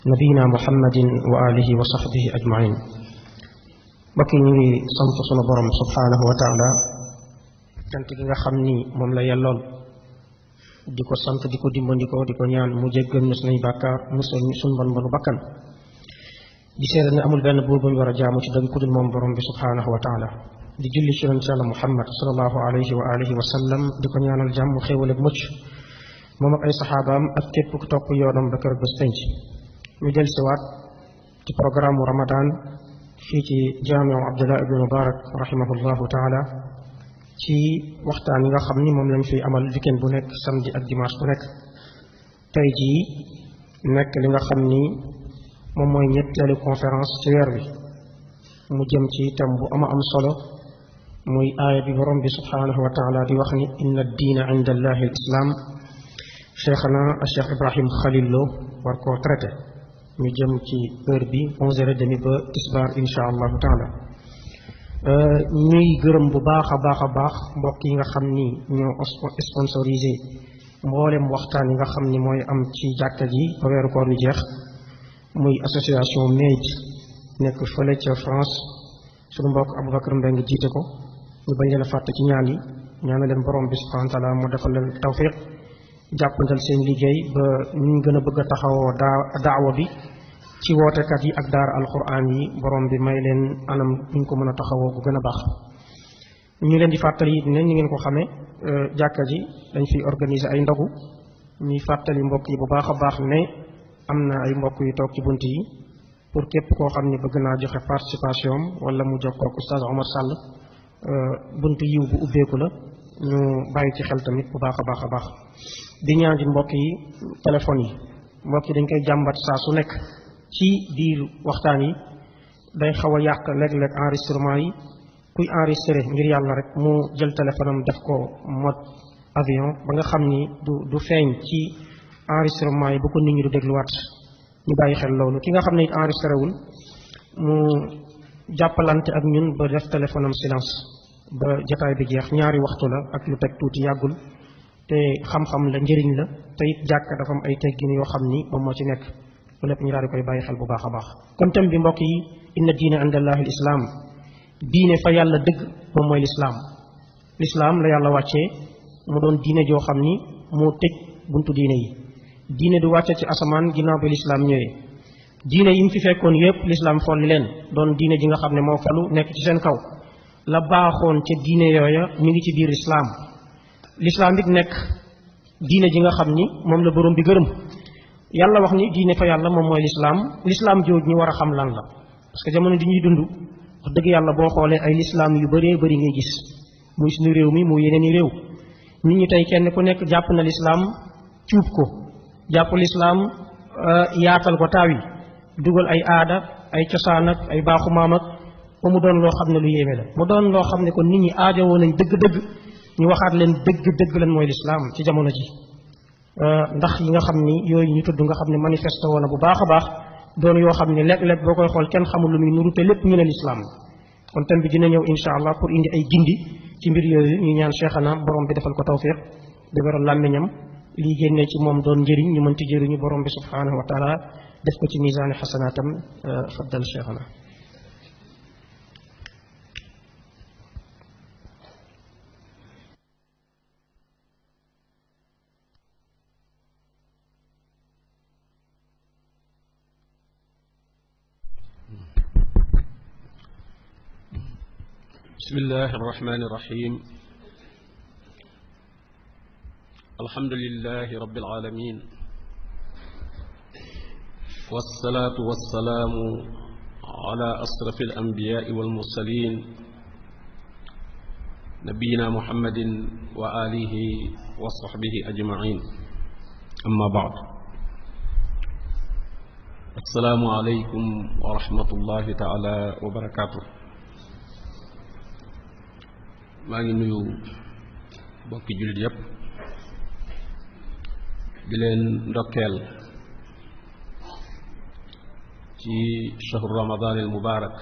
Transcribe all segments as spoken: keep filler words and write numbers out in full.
nabiyina muhammadin wa alihi wa sahbihi ajmain. mbokk yi ñu ngi sant sunu borom subhanahu wa taala cant gi nga xam ni moom la yellool di ko sant di ko dimbandikoo di ko ñaan mu jéggal ñu sunuy bàkkaar musal ñu sunu bon bonu bakkan di seede ne amul benn buur bu ñu war a jaamu ci dëgg ku dul moom borom bi subhanahu wa taala di julli ci yonent Yàlla muhammad sallallahu alayhi wa alihi wa sallam di ko ñaanal jàmm xéewal ak mucc moom ak ay saxaabaam ak képp ku topp yoonam ba kër bés penc ñu del siwaat ci programme mu ramadan fii ci jaamiu abdullah ibn mubarak rahimahullahu taala ci waxtaan yi nga xam ni moom lañ fiy amal weekend bu nekk samedi ak dimanche bu nekk tey jii nekk li nga xam ni moom mooy ñetteelu conférence ci weer wi mu jëm ci thème bu ama am solo muy aaya bi borom bi subhanahu wa taala di wax ni inna diina inda allahi al islam cheikhana cheikh ibrahim Khalil Lo war koo traité ñu jëm ci heure bi onze heures et demie ba tisbaar insha allahu taala ñuy gërëm bu baax a baax a baax mbokk yi nga xam ni ñoo sponsorisé mboolem waxtaan yi nga xam ni mooy am ci jàkka ji ba weeru koor wi jeex muy association Made nekk fële ca France suñu mbokk Aboubacar Mbengue jiite ko ñu bañ leen a fàtte ci ñaan yi ñaana leen borom bi subhanahu wa taala mu defal leen tawfiq jàppandal seen liggéey ba ñu gën a bëgg a taxawoo daa daawa bi ci wootekat yi ak daara alquran yi borom bi may leen anam ñu ko mën a taxawoo bu gën a baax. ñu leen di fàttali it ne ñu ngeen ko xamee jàkka ji dañ fiy organiser ay ndogu ñuy fàttali mbokk yi bu baax a baax ne am na ay mbokk yu toog ci bunt yi pour képp koo xam ne bëgg naa joxe participation wala mu jokkoo ak oustaz Omar Sall bunt yiw bu ubbeeku la ñu bàyyi ci xel tamit bu baax a baax a baax. di ñaan di mbokk yi téléphone yi mbokk yi dañ koy jàmbat saa su nekk ci biir waxtaan yi day xaw a yàq léeg-léeg enregistrement yi kuy enregistré ngir yàlla rek mu jël téléphone am def ko mode avion ba nga xam ni du du feeñ ci enregistrement yi bu ko nit ñi du dégluwaat ñu bàyyi xel loolu ki nga xam ne it enregistré wul mu jàppalante ak ñun ba def téléphone am silence ba jotaay bi jeex ñaari waxtu la ak lu teg tuuti yàggul te xam-xam la njëriñ la te it jàkk dafa am ay teggin yoo xam ni moom moo ci nekk lu lépp ñu daal di koy bàyyi xel bu baax a baax. kon thème bi mbokk yi inna diina inda allahi l islaam diine fa yàlla dëgg moom mooy lislaam lislaam la yàlla wàccee mu doon diine joo xam ni moo tëj buntu diine yi diine du wàcce ci asamaan ginnaaw bi lislaam ñëwee diine yi mu fi fekkoon yépp lislaam folli leen doon diine ji nga xam ne moo falu nekk ci seen kaw la baaxoon ca diine yooya ñu ngi ci biir lislaam lislaam it nekk diine ji nga xam ni moom la borom bi gërëm yàlla wax ni diine fa yàlla moom mooy lislaam lislaam jooju ñu war a xam lan la parce que jamono di ñuy dund wax dëgg yàlla boo xoolee ay lislaam yu bëree bëri ngay gis muy suñu réew mi muy yeneen i réew nit ñi tey kenn ku nekk jàpp na lislaam cuub ko jàpp lislaam yaatal ko taaw yi dugal ay aada ay cosaan ak ay baaxu maam ak ba mu doon loo xam ne lu yéeme la mu doon loo xam ne kon nit ñi aajowoo nañ dëgg-dëgg ñu waxaat leen dëgg dëgg lan mooy lislaam ci jamono ji ndax yi nga xam ni yooyu ñu tudd nga xam ne manifesté woon na bu baax a baax doon yoo xam ne léeg-léeg boo koy xool kenn xamul lu muy nuru te lépp ñu ne lislaam kon thème bi dina ñëw insha allah pour indi ay gindi ci mbir yooyu ñu ñaan cheikhana borom bi defal ko tawfiq dëgëral làmmiñam lii génnee ci moom doon njëriñ ñu mën ci jëriñu borom bi subhanahu wa taala def ko ci misaani xasanaatam faddal cheikhana. bismillahi arrahmani irrahim alhamdulilahi rabbil alamin wassalaatu wassalaamu ala asrafi alanbiyaai walmursalin nabiyina muhammadin wa alihi wa sahbihi ajmain amma baad assalaamu aleykum wa rahmatullahi taala wa barakatuh maa ngi nuyu bokki jullit yépp di leen ndokkeel ci shahru ramadan al mubarak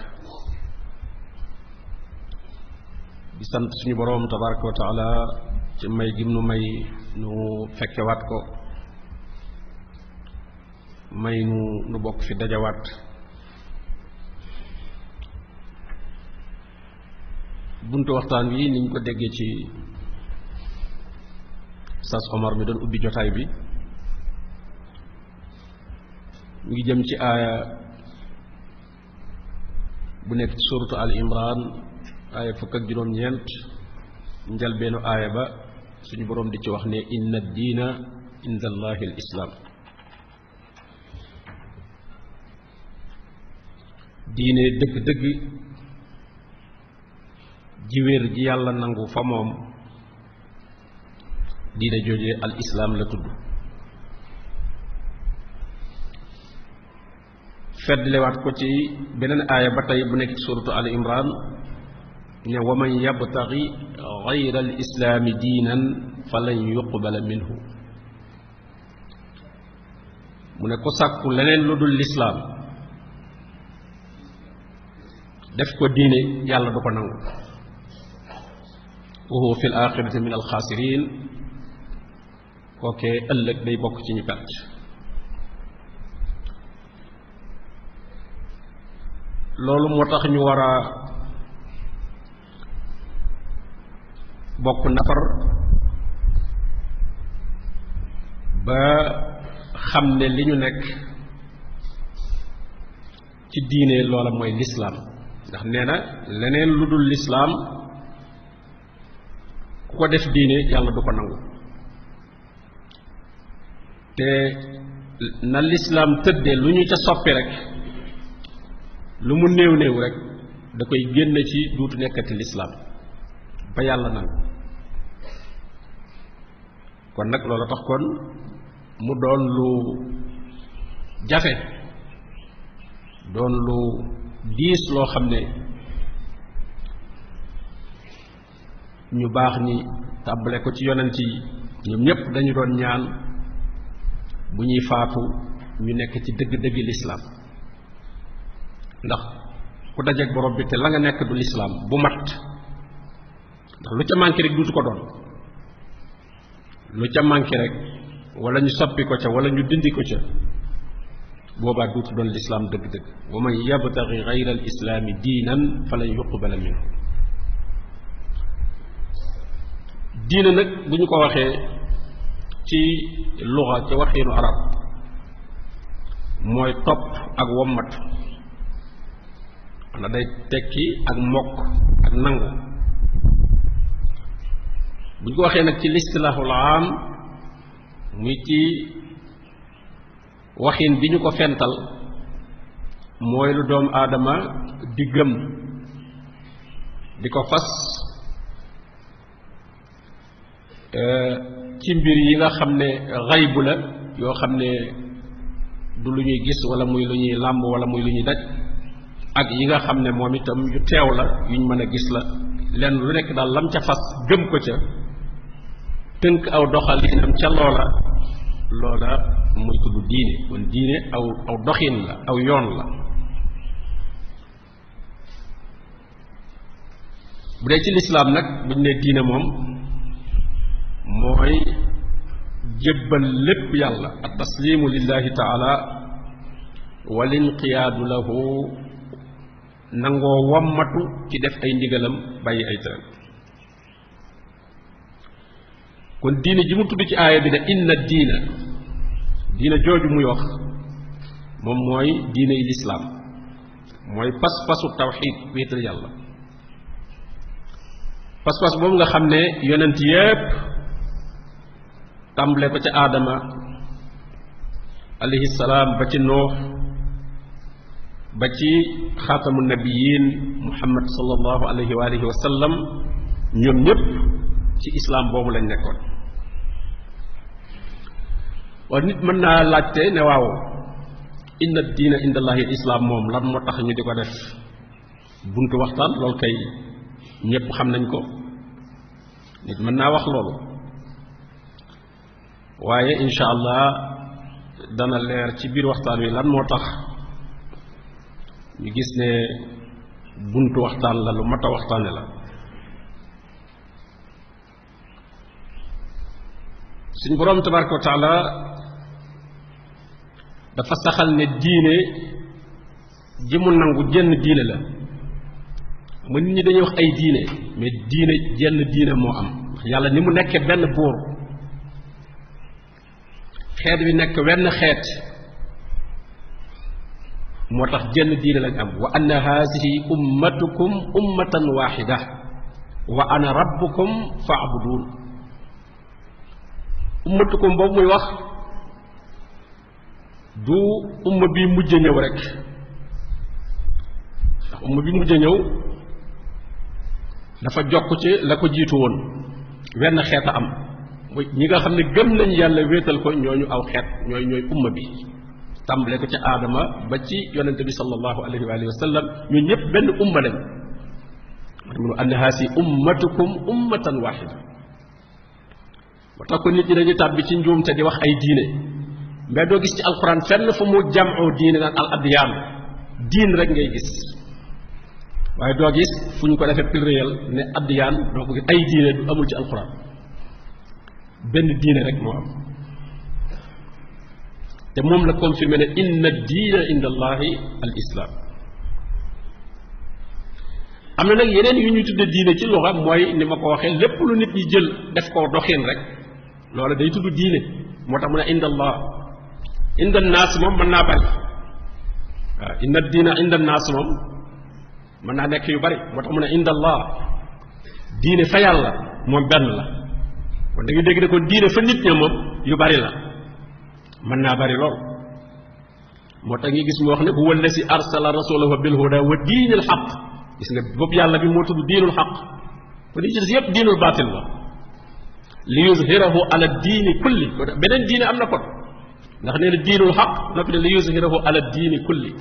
di sant suñu boroom tabaraka wa taala ci may gim nu may nu fekkewaat ko may nu nu bokk fi dajawaat buntu waxtaan wi niñ ko déggee ci Sas Omar mi doon ubbi jotaay bi mu ngi jëm ci aaya bu nekk ci suratu al imran aaya fukk ak juróom-ñeent njalbeenu aaya ba suñu boroom di ci wax ne inna diina inda allahi al islaam diine dëgg-dëgg jiwéer ji yàlla nangu fa moom diine jooje al islaam la tudd feddlewaat ko ci beneen aaya ba tey bu nekk ci suratu al imran ne wa man yabtaxi gayra al islaami diinan falan yuqbala minhu mu ne ko sàkku leneen lu dul lislaam def ko diine yàlla du ko nangu wa huwa fi l axirati min al xaasirin kookee ëllëg day bokk ci ñu perte loolu moo tax ñu war a bokk nafar ba xam ne li ñu nekk ci diine loola mooy lislaam ndax nee na leneen lu dul lislaam ku ko def diine yàlla du ko nangu te na lislaam tëddee lu ñu ca soppi rek lu mu néew néew rek da koy génne ci duutu nekkati lislaam ba yàlla nangu kon nag loolu tax kon mu doon lu jafe doon lu diis loo xam ne ñu baax ñi tàmbale ko ci yonent yi ñoom ñépp dañu doon ñaan bu ñuy faatu ñu nekk ci dëgg-dëgg lislaam ndax ku dajeek borom bi te la nga nekk du lislaam bu mat ndax lu ca manqué rek duutu ko doon lu ca manqué rek wala ñu soppi ko ca wala ñu dindi ko ca boobaa duutu doon lislaam dëgg-dëgg wa man yabtaxi gayra al islaami diinan falan yuqbala minhu diina nag bu ñu ko waxee ci luxa ci waxiinu arab mooy topp ak wommat xanaa day tekki ak mokk ak nangu bu ñu ko waxee nag ci listilaaxul aam muy ci waxin bi ñu ko fental mooy lu doomu aadama di gëm di ko fas ci mbir yi nga xam ne xaybu la yoo xam ne du lu ñuy gis wala muy lu ñuy làmb wala muy lu ñuy daj ak yi nga xam ne moom itam yu teew la yuñ mën a gis la lenn lu nekk daal lam ca fas gëm ko ca tënk aw doxalinam ca loola loola muy tudd diine kon diine aw aw doxin la aw yoon la bu dee ci lislaam nag bu ñu nee diine moom mooy jébbal lépp yàlla at taslimu lillahi taala wal inqiyaadu lahu nangoo wammatu ci def ay ndigalam bàyyi ay tere kon diine ji mu tudd ci aaya bi ne inna diina diina jooju muy wax moom mooy diine yi lislaam mooy pas-pasu tawxiid wéetal yàlla pas-pas boobu nga xam ne yonent yépp tàmbale ko ca aadama alayhi salaam ba ci noox ba ci xaatamu nabiyin muhammad sallallahu alayhi wa alihi wa sallam ñoom ñépp ci islaam boobu lañ nekkoon waaye nit mën naa laajte ne waaw inna diina indallahi islaam moom lan moo tax ñu di ko def buntu waxtaan loolu kay ñépp xam nañ ko nit mën naa wax loolu waaye insha allah dana leer ci biir waxtaan wi lan moo tax ñu gis ne buntu waxtaan la lu mat a waxtaane la suñ boroom tabaraka wa taala dafa saxal ne diine ji mu nangu jenn diine la mu nit ñi dañuy wax ay diine mais diine jenn diine moo am yàlla ni mu nekkee benn buur xeet wi nekk wenn xeet moo tax jenn diine lañ am wa anna haasihi ummatukum ummatan waxida wa ana rabbukum fa'budun ummatukum boobu muy wax du umma bi mujj ñëw rek ndax umma bi mujj ñëw dafa jokk ci la ko jiitu woon wenn xeet a am muy ñi nga xam ne gëm nañ yàlla wéetal ko ñooñu aw xeet ñooy ñooy umma bi tàmbale ko ci aadama ba ci yonente bi sallallahu alayhi wa alihi wa sallam ñun ñëpp benn umma lañ mu anna haasi ummatukum ummatan waxida moo tax ko nit ñi dañuy tàbbi ci njuumte di wax ay diine mais doo gis ci alquran fenn fu mu jamoo diine naan al adyaan diin rek ngay gis waaye doo gis fu ñu ko defee pluriel ne adyaan doo ko gis ay diine du amul ci alquran benn diine rek moo am te moom la confirmé ne inna diina inda allahi al islam am na nag yeneen yu ñuy tudde diine ci luxa mooy ni ma ko waxee lépp lu nit ñi jël def ko doxin rek loola day tudd diine moo tax mu ne inda allah inda naas moom mën naa bari waaw inna diina inda naas moom mën naa nekk yu bari moo tax mu ne inda allah diine fa yàlla moom benn la kon da nga dégg ne kon diine fa nit ña moom yu bari la mën naa bari lool moo tax ngi gis mu wax ne huwa allasi arsala rasulahu bil huda wa diinil xaq gis nga boobu yàlla bi moo tudd diinul xaq kon yi ci des yëpp diinul baatil la li yuzhirahu ala diini kulli beneen diine am na kon ndax nee na diinul xaq noppi ne li yuzhirahu ala diini kulli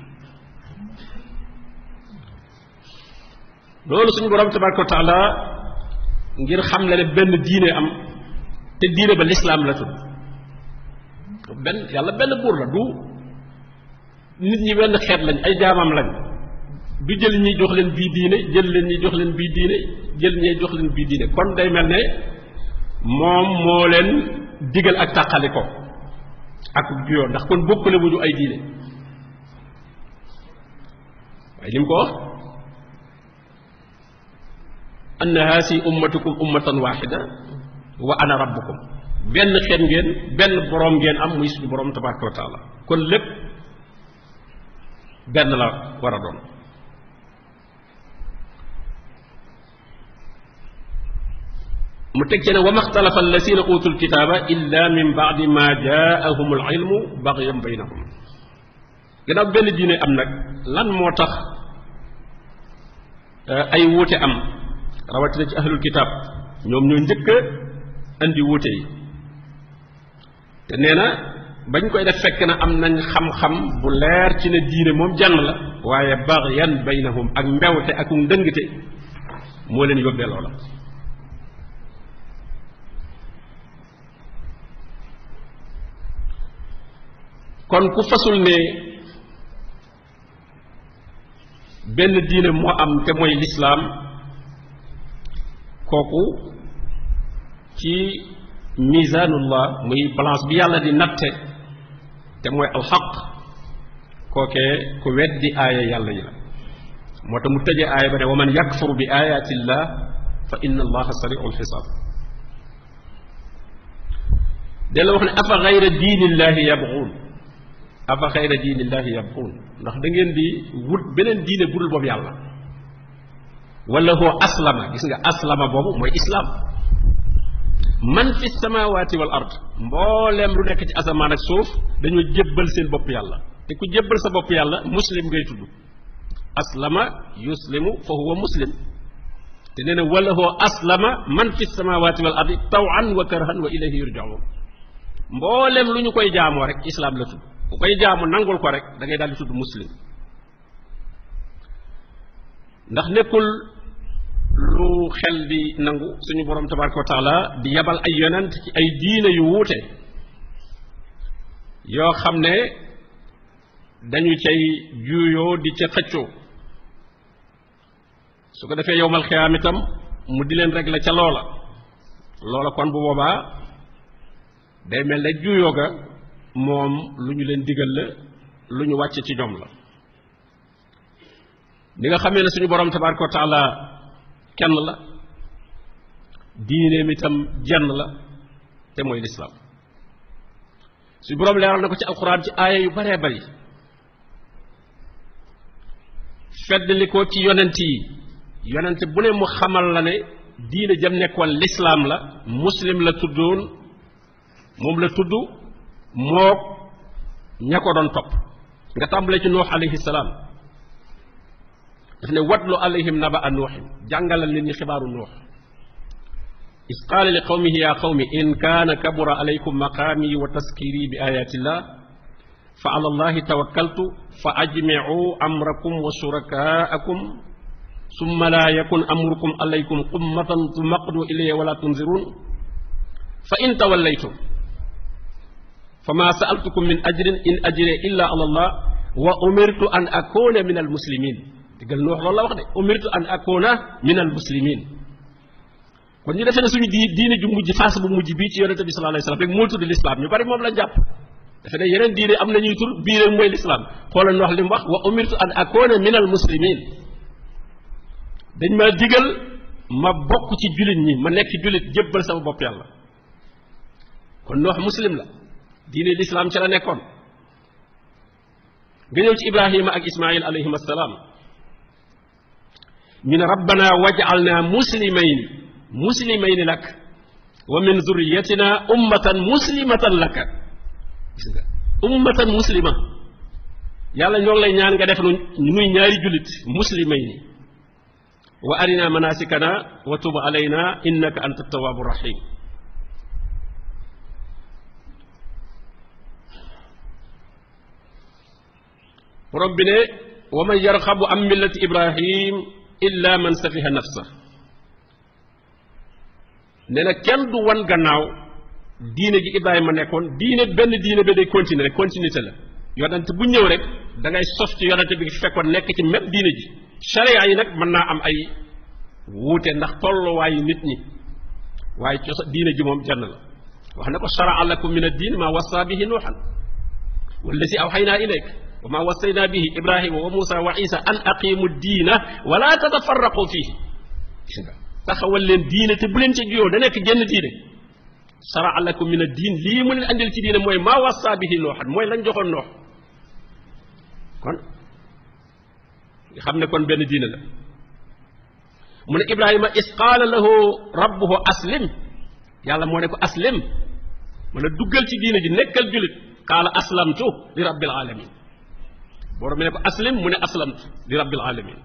loolu suñu borom tabaraka wa taala ngir xam le ne benn diine am te diine ba lislaam la tudd benn yàlla benn buur la du nit ñi wenn xeet lañ ay jaamam lañ du jël ñi jox leen bii diine jël leen ñi jox leen bii diine jël ñee jox leen bii diine kon day mel ne moom moo leen digal ak tàqali ko ak juyoo ndax kon bokkule wuñu ay diine waaye li mu ko wax anna haasi ummatukum ummatan waxida wa ana rabbukum benn xeet ngeen benn boroom ngeen am muy suñu boroom tabaraka wa taala kon lépp benn la war a doon mu teg ci ne wa maxtalafa allasina utul kitaaba illa min baadi ma jaahum al ilmu bagyan baynahum gannaaw benn diine am nag lan moo tax ay wuute am rawatina ci ahlul kitaab ñoom ñoo njëkk a andi wuute yi te nee na bañ koy def fekk na am nañ xam-xam bu leer ci ne diine moom jann la waaye bagyan baynahum ak mbewte ak ndëngte moo leen yóbbee loola kon ku fasul ne benn diine moo am te mooy lislaam kooku ci misaanullah muy balance bi yàlla di natte te mooy alxaq kookee ku weddi aaya yàlla yi la moo tax mu tëjee aaya ba ne wa man yakfur bi ayatillah fa inna allaha sari'ul xisaab della wax ne afa gayra diinillahi yabxuun afa xayra diinillahi yabxuun ndax da ngeen di wut beneen diine budul boobu yàlla wala huwa aslama gis nga aslama boobu mooy islaam man fi samawati wal ard mbooleem lu nekk ci asamaan ak suuf dañoo jébbal seen bopp yàlla te ku jébbal sa bopp yàlla muslim ngay tudd aslama yuslimu fa huwa muslim te nee na wala huwa aslama man fi samawati wal ard tawan wa karhan wa ilayhi yurjaun mbooleem lu ñu koy jaamoo rek islaam la tudd ku koy jaamu nangul ko rek da ngay daal di tudd muslim ndax nekkul lu xel di nangu suñu borom tabaraka wa taala di yabal ay yonent ci ay diine yu wuute yoo xam ne dañu cay juuyoo di ca xëccoo su ko defee yowmal xiyaam itam mu di leen régler ca loola loola kon bu boobaa day mel ne juuyoo ga moom lu ñu leen digal la lu ñu wàcce ci ñoom la ni nga xamee ne suñu borom tabaraka wa taala kenn la diineem itam jenn la te mooy lislaam suñu borom leeral na ko ci alquran ci aaya yu baree bari feddli ko ci yonent yi yonent bu ne mu xamal la ne diine jam nekkoon lislaam la muslim la tuddoon moom la tudd mook ña ko doon topp nga tàmbalee ci nuux alayhi salaam daf ne watlu alayhim naba a nuuxin jàngalal nit ñi xibaaru nuux is qaala li qawmihi ya qawmi in kaana kabura alaykum maqaami wa taskiri bi ayatillah fa ala allahi tawakkaltu fa ajmicu amrakum wa shurakaakum summa laa yakun amrukum alaykum ummatan tumaqdu ilayya wala tunzirun fa in tawallaytum fa ma sa'altukum min ajrin in ajriya illa ala allah wa umirtu an akuna min al muslimin digal nu wax loolu la wax de umirtu an akuna min al muslimin kon ñu defee ne suñu di diine ju mujj phase bu mujj bii ci yonente bi sallallahu alayhi wasallam rek moo tudd l'islam ñu bari moom la jàpp dafa ne yeneen diine am na ñuy tur bii rek mooy l'islam xoolal wax li mu wax wa umirtu an akuna min al muslimin dañ ma digal ma bokk ci jullit ñi ma nekk jullit jébbal sama bopp yàlla kon nu wax muslim la diine l'islam ci la nekkoon nga ñëw ci ibrahima ak ismail alayhim assalaam ñu ne rabbana waj'alna muslimayn muslimayn lak wa min zurriyatina ummatan muslimatan laka gis nga ummatan muslima yàlla ñoo ngi lay ñaan nga def nu nuy ñaari jullit muslimayn wa arina manasikana wa tub alayna innaka anta tawwabu rahim borom bi ne wa man yarxabu an millati ibrahim illa man safiha nafsa nee na kenn du wan gannaaw diine gi ibrahima nekkoon diine benn diine ba day continuer rek continuité la yonent bu ñëw rek da ngay sos ci yonent bi fekkoon nekk ci même diine ji sharia yi nag mën naa am ay wuute ndax tolluwaayu nit ñi waaye cosa diine ji moom jenn la wax na ko shara'a lakum min ad-din ma wassa bihi nuuhan wallazi awhaynaa ilayk wa ma wassayna bihi ibrahima wa musa wa isa an aqimu diina wala tatafarraqu fihi gis nga taxawal leen diine te bu leen ci juyoo da nekk genn diine shara'a lakum min ad-din lii mu leen andil ci diine mooy ma wassa bihi nuuhan mooy lañ joxoon noox kon nga xam ne kon benn diine la mu ne ibrahima is qaala lahu rabbuhu aslim yàlla moo ne ko aslim mu ne duggal ci diine ji nekkal julit qaala aslamtu li rabbil alamin borom mi ne ko aslim mu ne aslamtu li rabbil alamin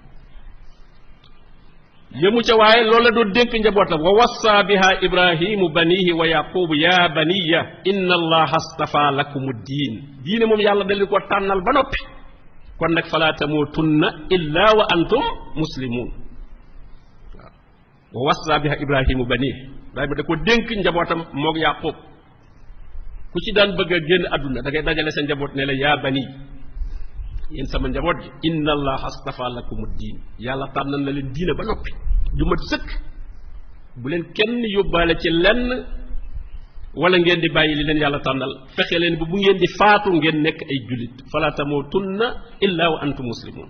yëmu ca waaye loolu la doon dénk njabootam wa wassa biha ibrahimu banihi wa yaqubu ya baniya inna allaha astafa lakumu diin diine moom yàlla dali ko tànnal ba noppi kon nag fala tamutunna illa wa antum muslimun wa wassa biha ibrahimu banihi ibrahima da ko dénk njabootam moog yaqub ku ci daan bëgg a génn àdduna da ngay dajale sa njaboot ne la yaa bani yéen sama njaboot ji inna allaha astafa lakumu diin yàlla tànnal na leen diine ba noppi ju mat sëkk bu leen kenn yóbbaale ci lenn wala ngeen di bàyyi li leen yàlla tànnal fexe leen ba bu ngeen di faatu ngeen nekk ay jullit fala tamutunna illa wa antum muslimun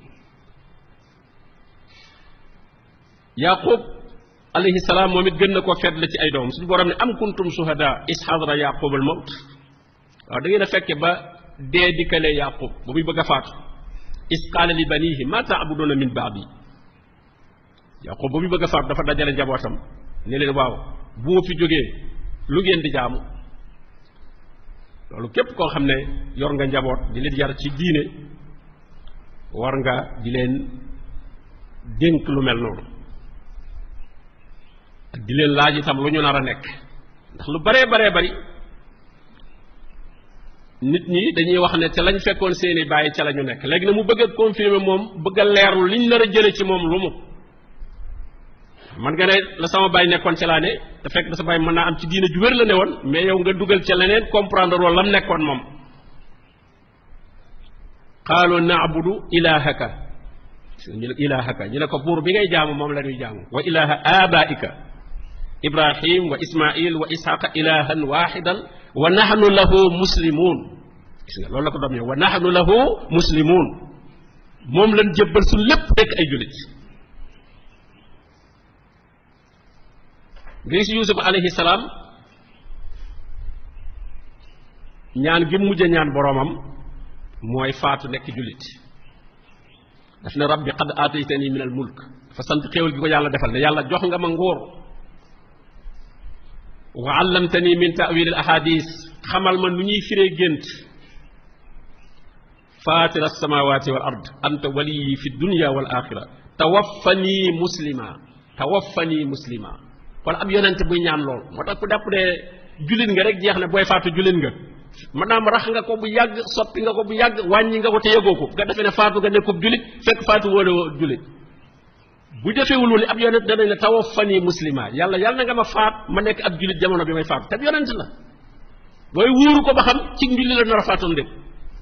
yaqub alayhi salaam moom it gën na koo fedd la ci ay doom suñu borom ne am kuntum shuhada is hadara yaqub al mawt waaw da ngeen a fekke ba dee dikkalee yaqub ba muy bëgg a faatu is qaala li banihi ma taabuduna min baadi yaqub ba muy bëgg a faatu dafa dajale njabootam ne leen waaw bu ma fi jógee lu ngeen di jaamu loolu képp koo xam ne yor nga njaboot di leen yar ci diine war nga di leen dénk lu mel noonu ak di leen laaj itam lu ñu nar a nekk ndax lu baree baree bari nit ñi dañuy wax ne te lañ fekkoon seeni bàyyi ca la ñu nekk léegi na mu bëgg a confirmer moom bëgg a leerlu liñ nar a jële ci moom lu mu man nga ne la sama bàyyi nekkoon ca laa ne te fekk na sa bàyyi mën naa am ci diine ju wér la ne woon mais yow nga dugal ca leneen comprendre loolu lam nekkoon moom qaalu na'budu ilahaka ñu ne ilahaka ñu ne ko buur bi ngay jaamu moom la ñuy jaamu wa ilaha abaika ibrahim wa ismail wa ishaqa ilahan wahidan wa nahnu lahu muslimun gis nga loolu la ko doom yow wa nahnu lahu muslimun moom lañ jébbal su lépp nekk ay jullit nga gis Yuusuf alayhi salaam ñaan gi mujj ñaan boroomam mooy faatu nekk jullit daf ne rabbi qad aataytani min al mulk dafa sant xéewal gi ko yàlla defal ne yàlla jox nga ma nguur wa allamtani min ta'wil al ahadis xamal ma nu ñuy firee gént fatir as-samawati wal ard anta waliyi fi dunya wal axira tawaffani muslima tawaffani muslima kon ab yonent buy ñaan lool moo tax ku dàpp de jullit nga rek jeex ne booy faatu jullit nga maanaam rax nga ko bu yàgg soppi nga ko bu yàgg wàññi nga ko te yëgoo ko nga defee ne faatu nga nekkub jullit fekk faatu wóole jullit bu defewul woon ab yonent danañ la tawaffani muslima yàlla yàlla na nga ma faat ma nekk ab jullit jamono bi may faatu te yonent la booy wóoru ko ba xam ci njulli la nar a faatoon dem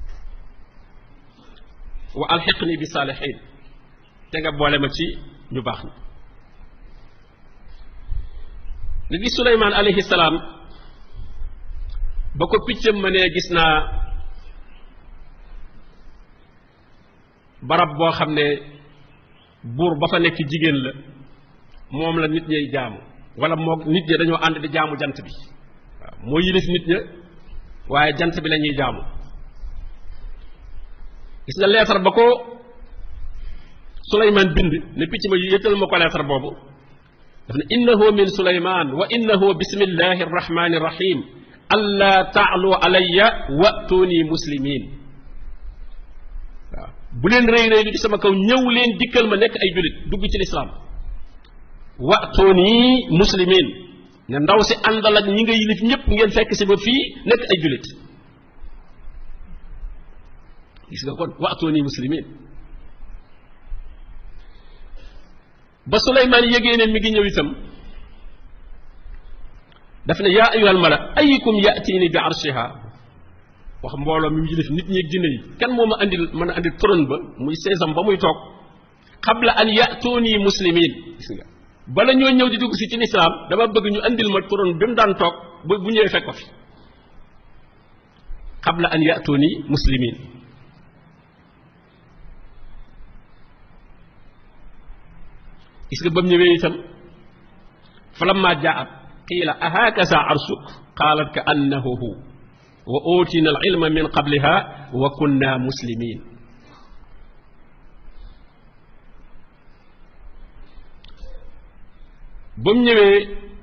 wa alxiqni bi saalihin te nga boole ma ci ñu baax na li gis Suleymaan alayhi salaam ba ko piccam ma ne gis naa barab boo xam ne buur ba fa nekk jigéen la moom la nit ñay jaamu wala moo nit ñi dañoo ànd di jaamu jant bi waaw moo yilif nit ña waaye jant bi la ñuy jaamu gis nga leetar ba ko Suleymaan bind ne picc ma yëtal ma ko leetar boobu daf ne innahu min Suleymaan wa innahu bismillahi arrahmani irrahim alla taalu alayya wa'tuni muslimin waaw bu leen rëy rëy lu ci sama kaw ñëw leen dikkal ma nekk ay jullit dugg ci lislaam wa'tuni muslimin ne ndaw si àndal ak ñi nga yilif ñëpp ngeen fekk si ba fii nekk ay jullit gis nga kon wa'tuni muslimin ba Suleymaan yégée ne mi ngi ñëw itam daf ne yaa ayyuhal mala ayyukum ya'tini bi arshiha wax mbooloo mi mu yilif nit ñi ak jinne yi kan moo ma andil mën a andil trône ba muy seesam ba muy toog qabla an ya'tuni muslimin gis nga bala ñoo ñëw di dugg si ci lislaam dama bëgg ñu andil ma trône bi mu daan toog bu bu ñëwee fekk ko fi qabla an ya'tuni muslimin gis nga ba mu ñëwee itam falamma jaa'at qiila ahakaza arshuk qaalat ka annahu hu wa uutina al ilma min qabliha wa kunna muslimin ba mu ñëwee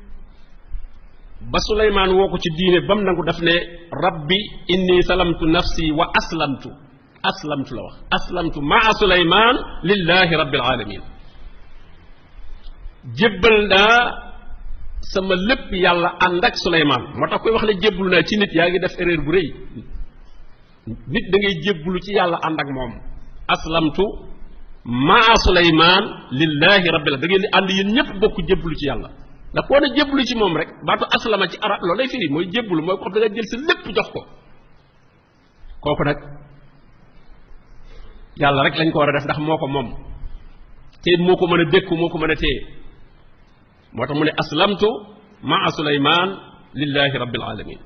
ba Suleymaan woo ko ci diine ba mu nangu daf ne rabbi inni salamtu nafsi wa aslamtu aslamtu la wax aslamtu maa Suleymaan lillahi rabbil alamin jébbal naa sama lépp yàlla ànd ak Suleymaan moo tax koy wax ne jébbalu naa ci nit yaa ngi def erreur bu rëy nit da ngay jébbalu ci yàlla ànd ak moom aslamtu maa Suleymaan lillahi rabbil da ngeen di ànd yéen ñëpp bokk jébbalu ci yàlla ndax koo ne jébbalu ci moom rek baatu aslama ci arab loolu lay firi mooy jébbalu mooy ko xam da nga jël sa lépp jox ko kooku nag yàlla rek lañ ko war a def ndax moo ko moom te moo ko mën a dékku moo ko mën a téye moo tax mu ne aslamtu maa Suleymaan lillahi rabbil alamin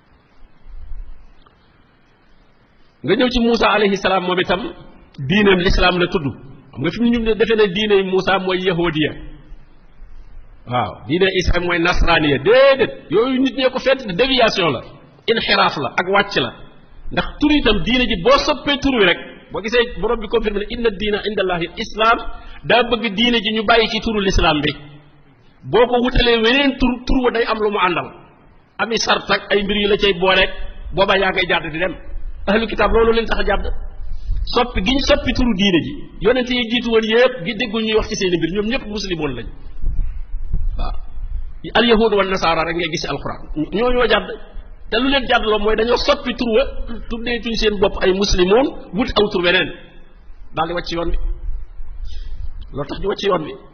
nga ñëw ci Muusa alayhi salaam moom itam diineem lislaam la tudd xam nga fi mu ñu defee ne diine Muusa mooy yahudiya waaw diine Isa mooy nasraniya déedéet yooyu nit ñee ko fent déviation la inxiraaf la ak wàcc la ndax tur itam diine ji boo soppee tur wi rek boo gisee borom bi confirmé ne inna diina inda allahi islam daa bëgg diine ji ñu bàyyi ci turu lislaam bi boo ko wutalee weneen tur tur wa day am lu mu àndal ami sart ak ay mbir yu la cay booleeg booba yaa ngay jàdd di dem ahlu kitaab loolu leen tax a jàdd soppi gi ñu soppi turu diine ji yonent yi jiitu woon yëpp gi déggul ñuy wax ci seen mbir ñoom ñëpp muslimoon lañ waaw al yahud wa nasaara rek ngay gis alquran ñoo ñoo jàdd te lu leen jàdd loo mooy dañoo soppi tur wa tuddeetuñ seen bopp ay muslimoon wut aw tur weneen daal di wàcc yoon bi loolu tax ñu wàcc yoon bi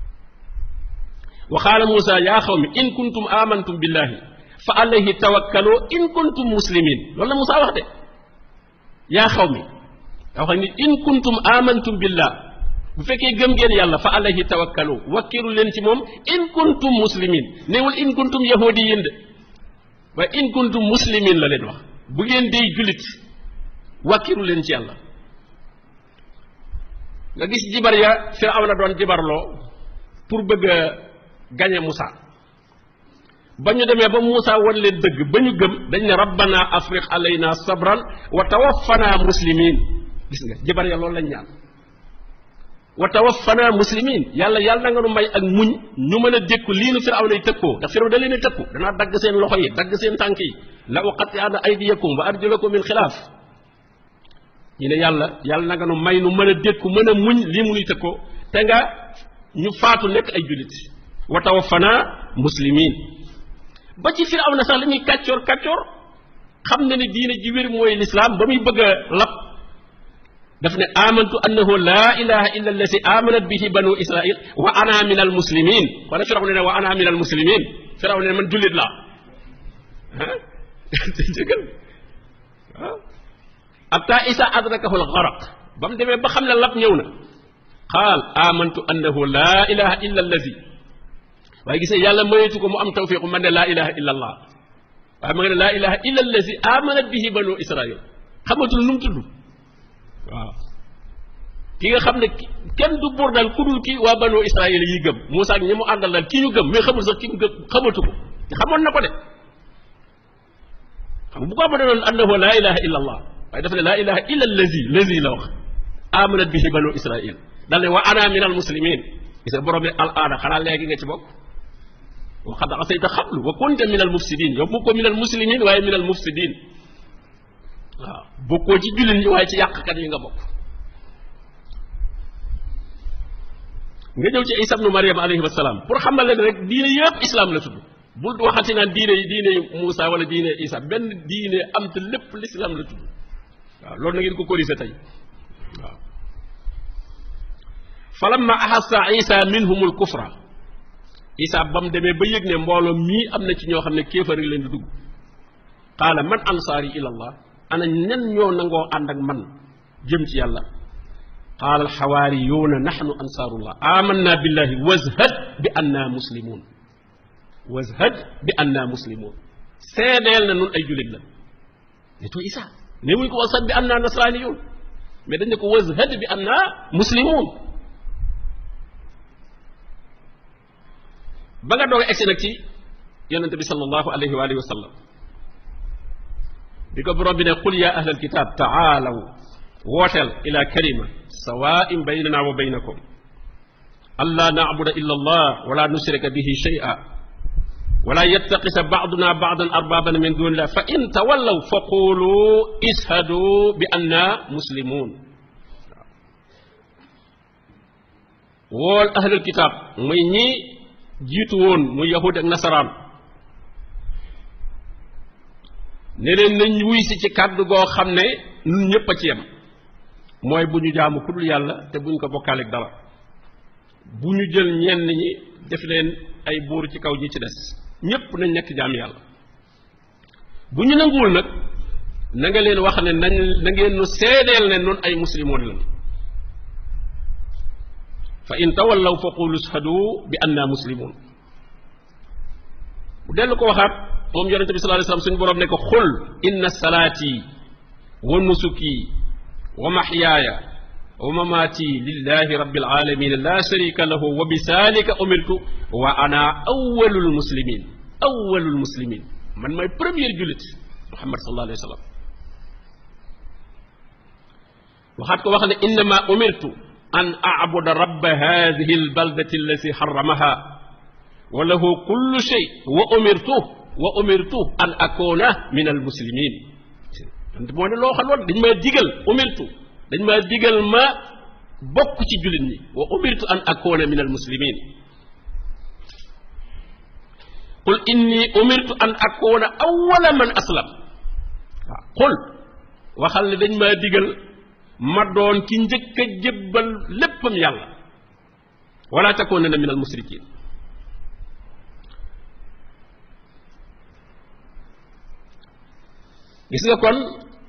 wa qaala Muusa yaa qawmi in kuntum amantum billahi fa alayhi tawakkalu in kuntum muslimin loolu la Muusa wax de yaa qawmi daa wax ni in kuntum amantum billah bu fekkee gëm ngeen yàlla fa alayhi tawakkalu wakkiru leen ci moom in kuntum muslimin neewul in kuntum yahudiyin de waaye in kuntum muslimin la leen wax bu ngeen dee jullit wàkkiru leen ci yàlla nga gis jibar ya Firawna doon jibarloo pour bëgg a gañe Musa ba ñu demee ba Musa wan leen dëgg ba ñu gëm dañ ne rabbana afriq alayna sabran wa tawaffana muslimin gis nga jibar ya loolu lañ ñaan wa tawaffana muslimin yàlla yàlla na nga nu may ak muñ ñu mën a dékku lii nu Firawna yi tëkkoo ndax Firawna da leen a tëkku danaa dagg seen loxo yi dagg seen tànk yi la uqatti'anna aydiyakum wa arjulakum min xilaaf ñu ne yàlla yàlla na nga nu may nu mën a dékku mën a muñ lii mu nuy tëkkoo te nga ñu faatu nekk ay jullit wa tawaffana muslimin ba ci Firawna sax la ñuy kàccoor kàccoor xam na ne diine ji wér mooy lislaam ba muy bëgg a lab daf ne amantu annahu laa ilaha illa allati amanat bihi banu israil wa ana min al muslimin wala Firawna ne wa ana min al muslimin Firawna ne man jullit laa ah jëgal waaw hatta isa adrakahu al gharaq ba mu demee ba xam ne lab ñëw na qaal amantu annahu laa ilaha illa allati waaye gisee yàlla mayeetu ko mu am tawfiqu man ne laa ilaha illa allah waaye ma nga ne laa ilaha illa allati amanat bihi banu israil xamatul nu mu tudd waaw ki nga xam ne kenn du buur daal ku dul ki waa banu israil yi gëm Muusaa ak ñi mu àndal daal ki ñu gëm mais xamul sax ki mu gëm xamatu ko te xamoon na ko de xam bu ko ma doon annahu laa ilaha illa allah waaye dafa ne laa ilaha illa allazi lazi la wax amanat bihi banu israil dal ne wa ana min al muslimin gis nga borom bi al aada xanaa léegi nga ci bokk wa qad asayta qablu wa kunta min al mufsidin yow bokkoo min al muslimin waaye min al mufsidin waaw bokkoo ci jullit ñi waaye ci yàqkat yi nga bokk nga ñëw ci Isa ibnu Maryam alayhi salaam pour xamal leen rek diine yëpp islam la tudd bul waxati naan diine yi diine Muusa wala diine Isa benn diine am te lépp l'islam la tudd waaw loolu na ngeen ko corriger tey waaw falamma ahassa Isa minhumul kufra Isa ba mu demee ba yëg ne mbooloo mii am na ci ñoo xam ne kéefar yi leen di dugg qaala man ansaari ila allah ana ñan ñoo nangoo ànd ak man jëm ci yàlla qaala alxawaariyuuna naxnu ansaarullah amanna billahi wazhad bi anna muslimun wazhad bi anna muslimun seedeel na nun ay jullit la ne to Isa ne wuñ ko wazhad bi anna nasraniyun mais dañ ne ko wazhad bi anna muslimun ba nga doog a egsi nag ci yonente bi sallallahu alayhi wa alihi wa sallam bi ko borom bi ne qul ya ahlal kitab taalaw wooteel ila kalima sawaa'in baynana wa baynakum alla na'buda illa allah wala nushrika bihi shay'a wala yattaqisa ba'duna ba'dan arbaban min dunillah fa in tawallaw fa qulu ishhadu bi anna muslimun wool ahlul kitab muy ñi jiitu woon muy yahud ak nasaraan ne leen nañ wuy si ci kàddu goo xam ne ñun ñëpp a ci yem mooy bu ñu jaamu ku dul yàlla te bu ñu ko bokkaaleeg dara bu ñu jël ñenn ñi def leen ay buur ci kaw ñi ci des ñëpp nañ nekk jaam yàlla bu ñu nanguwul nag na nga leen wax ne nañ na ngeen nu seedeel ne noonu ay muslimoon lañ fa in tawallaw fa qulu ashhadu bi anna muslimun bu dellu ko waxaat moom yonente bi sallallahu alayhi wasallam suñu borom ne ko xul inna salaati wa nusuki wa mahyaaya wa mamaati lillahi rabbil alamin la sharika lahu wa bisalika umirtu wa ana awwalul muslimin awwalul muslimin man may premier jullit Muhammad sallallahu alayhi wasallam waxaat ko wax ne innama umirtu an a'buda rabba hadhihi albaldati allati harramaha wa lahu kullu shay wa umirtu wa umirtu an akuna min al muslimin moo ne loo xam loolu dañ maa digal umirtu dañ maa digal ma bokk ci jullit ñi wa umirtu an akuna min al muslimin qul inni umirtu an akuna awwala man aslam waaw qul waxal ne dañ maa digal ma doon ki njëkk a jébbal léppam yàlla wala takunanna min al musrikin gis nga kon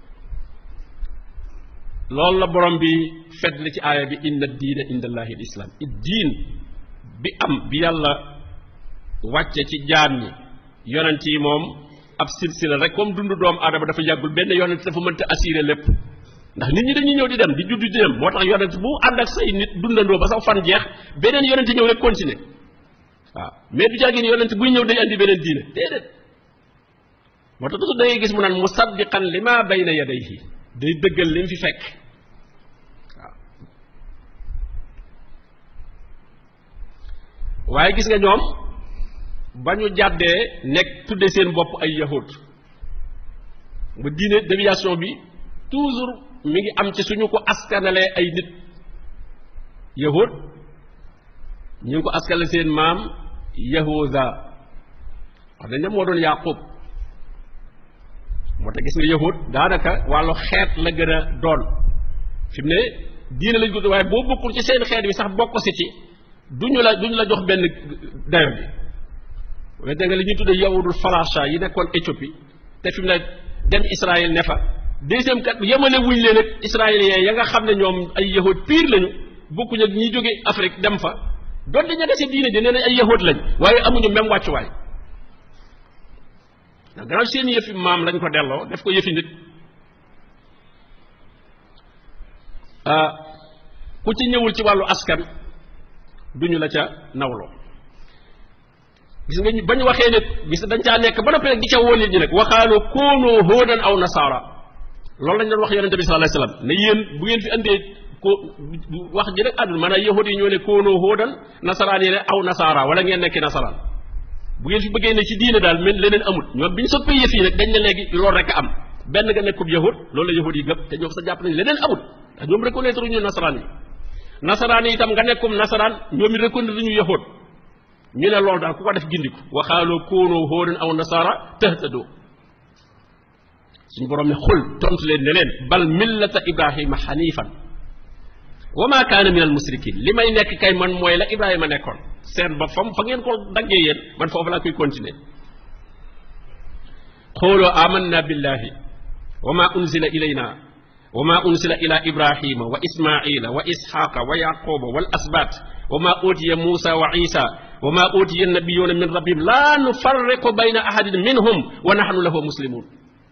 loolu la borom bi fedd ci aaya bi inna diina inda allahi al islam diin bi am bi yàlla wàcce ci jaam ñi yonent yi moom ab silsila rek comme dundu doomu aadama dafa yàggul benn yonent dafa mënta assuré lépp ndax nit ñi dañuy ñëw di dem di judd di dem moo tax yonent bu ànd ak say nit dundandoo ba sax fan jeex beneen yonent ñëw rek continuer waaw mais du jaagin yonent buy ñëw day andi beneen diine déedéet moo tax toujours da ngay gis mu naan musaddiqan lima bayna yadayhi day dëggal li mu fi fekk waaw waaye gis nga ñoom ba ñu jàddee nekk tudde seen bopp ay yahud ba diine déviation bi toujours mi ngi am ci suñu ko askanalee ay nit yahud ñu ngi ko askanale seen maam yahuda wax dañ ne moo doon yaqub moo tax gis nga yahud daanaka wàllu xeet la gën a doon fi mu ne diine lañ ko waaye boo bokkul ci seen xeet bi sax bokk si ci duñu la duñu la jox benn dayo bi waaye da nga li ñuy tuddee yahudul falasha yi nekkoon Éthiopie te fi mu ne dem Israël ne fa deuxième kat yemale wuñ leen ak israéliens ya nga xam ne ñoom ay yahud pire lañu bokkuñ ak ñi jóge Afrique dem fa doon di ña dese diine ji nee nañ ay yahud lañ waaye amuñu même wàccuwaay ndax gannaaw seen yëfi maam lañ ko delloo def ko yëfi nit ku ci ñëwul ci wàllu askan duñu la ca nawloo gis nga bañ waxee ne gis dañ caa nekk ba noppi nag di ca woo nit ñi nag waxaaloo koonoo hóodan aw nasaara loolu lañ doon wax yonente bi sallallahu alayhi wasallam ne yéen bu ngeen fi andee ko wax ji rek àdduna maanaam yahud yi ñoo ne koonoo hóodan nasaraan yi ne aw nasaara wala ngeen nekki nasaraan bu ngeen fi bëggee ne ci diine daal mel leneen amul ñoom bi ñu soppee yëf yi nag dañ ne léegi loolu rek a am benn nga nekkub yahud loolu la yahud yi gëm te ñoom sa jàpp nañ leneen amul ndax ñoom reconnaître ñu nasaraan yi nasaraan yi itam nga nekkum nasaraan ñoom it reconnaître ñu yahud ñu ne loolu daal ku ko def gindiku waxaaloo koonoo hóodan aw nasaara tahtadoo suñu borom ne xul tontu leen ne leen bal millata ibrahima xanifan wa ma kaana min al musrikin li may nekk kay man mooy la ibrahima nekkoon seen ba fam fa ngeen ko daggee yéen man foofu laa koy continuer xooloo amanna billahi wa ma unzila ilayna wa ma unzila ila ibrahima wa ismaila wa ishaqa wa yaquba wal asbat wa ma utiya musa wa isa wa ma utiya nabiyuna min rabbihim la nufarriqu bayna ahadin minhum wa nahnu lahu muslimun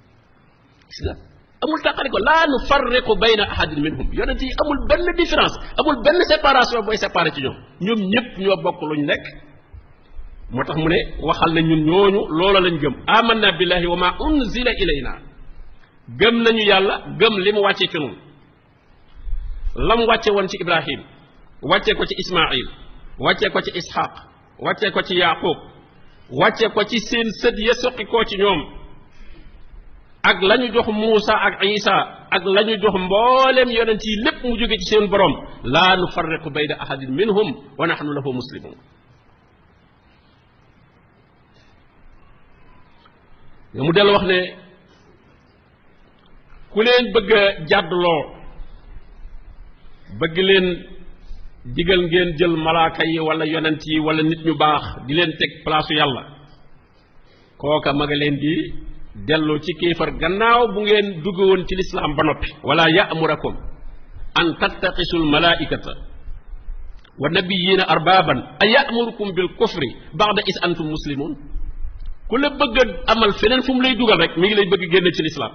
amul tàqali ko laa nu farriqu bayna ahadin minhum yonent yi amul benn différence amul benn séparation booy séparé ci ñoom ñoom ñëpp ñoo bokk luñ nekk moo tax mu ne waxal na ñun ñooñu loola lañ gëm amanna billahi wa ma unzila ilayna gëm nañu yàlla gëm li mu wàcce ci ñun lam wàcce woon ci ibrahim wàcce ko ci ismail wàcce ko ci ishaq wàcce ko ci yaqub wàcce ko ci seen sët ya soqi koo ci ñoom ak la ñu jox Muusa ak Isa ak la ñu jox mboolem yonent yi lépp mu jóge ci seen borom laa nufarriqu bayna ahadin minhum wa nahnu lahu muslimun nga mu dellu wax ne ku leen bëgg a jàddloo bëgg leen digal ngeen jël malaaka yi wala yonent yi wala nit ñu baax di leen teg place yàlla kooka ma nga leen di delloo ci kéefar gannaaw bu ngeen dugg woon ci lislaam ba noppi wala ya'murakum an tattaqisul malaikata wa nabiyina arbaban a ya'murukum bil kufri ba'da is antum muslimun ku la bëgg a amal feneen fu mu lay dugal rek mi ngi lay bëgg génne ci lislaam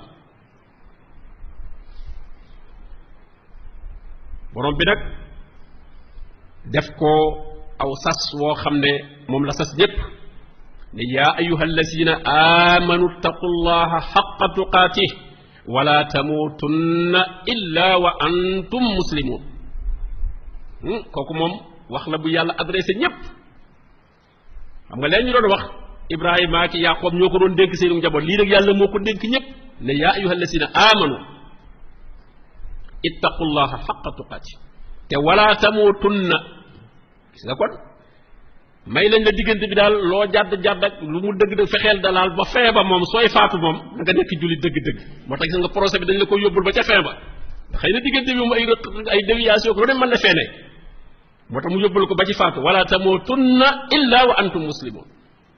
borom bi nag def ko aw sas woo xam ne moom la sas ñépp ne yaa ayuha allazina amanu taqullaha xaqa tuqaatih wala tamuutunna illa wa antum muslimun kooku moom wax la bu yàlla adressé ñépp xam nga leen ñu doon wax ibrahima ki yaqoob ñoo ko doon dénk seenu njaboot lii nag yàlla moo ko dénk ñépp ne yaa ayuha allazina amanu ittaqullaha xaqa tuqaatih te wala tamuutunna gis nga kon may lañ la diggante bi daal loo jàdd jàdd ak lu mu dëgg dëgg fexeel dalaal ba fin ba moom sooy faatu moom nga nekk jullit dëgg-dëgg moo tax gis nga procès bi dañ la ko yóbbul ba ca fin ba xëy na diggante bi moom ay ay déviation ko lu ne mën na feene moo tax mu yóbbul ko ba ci faatu wala tamuutunna illa wa antum muslimun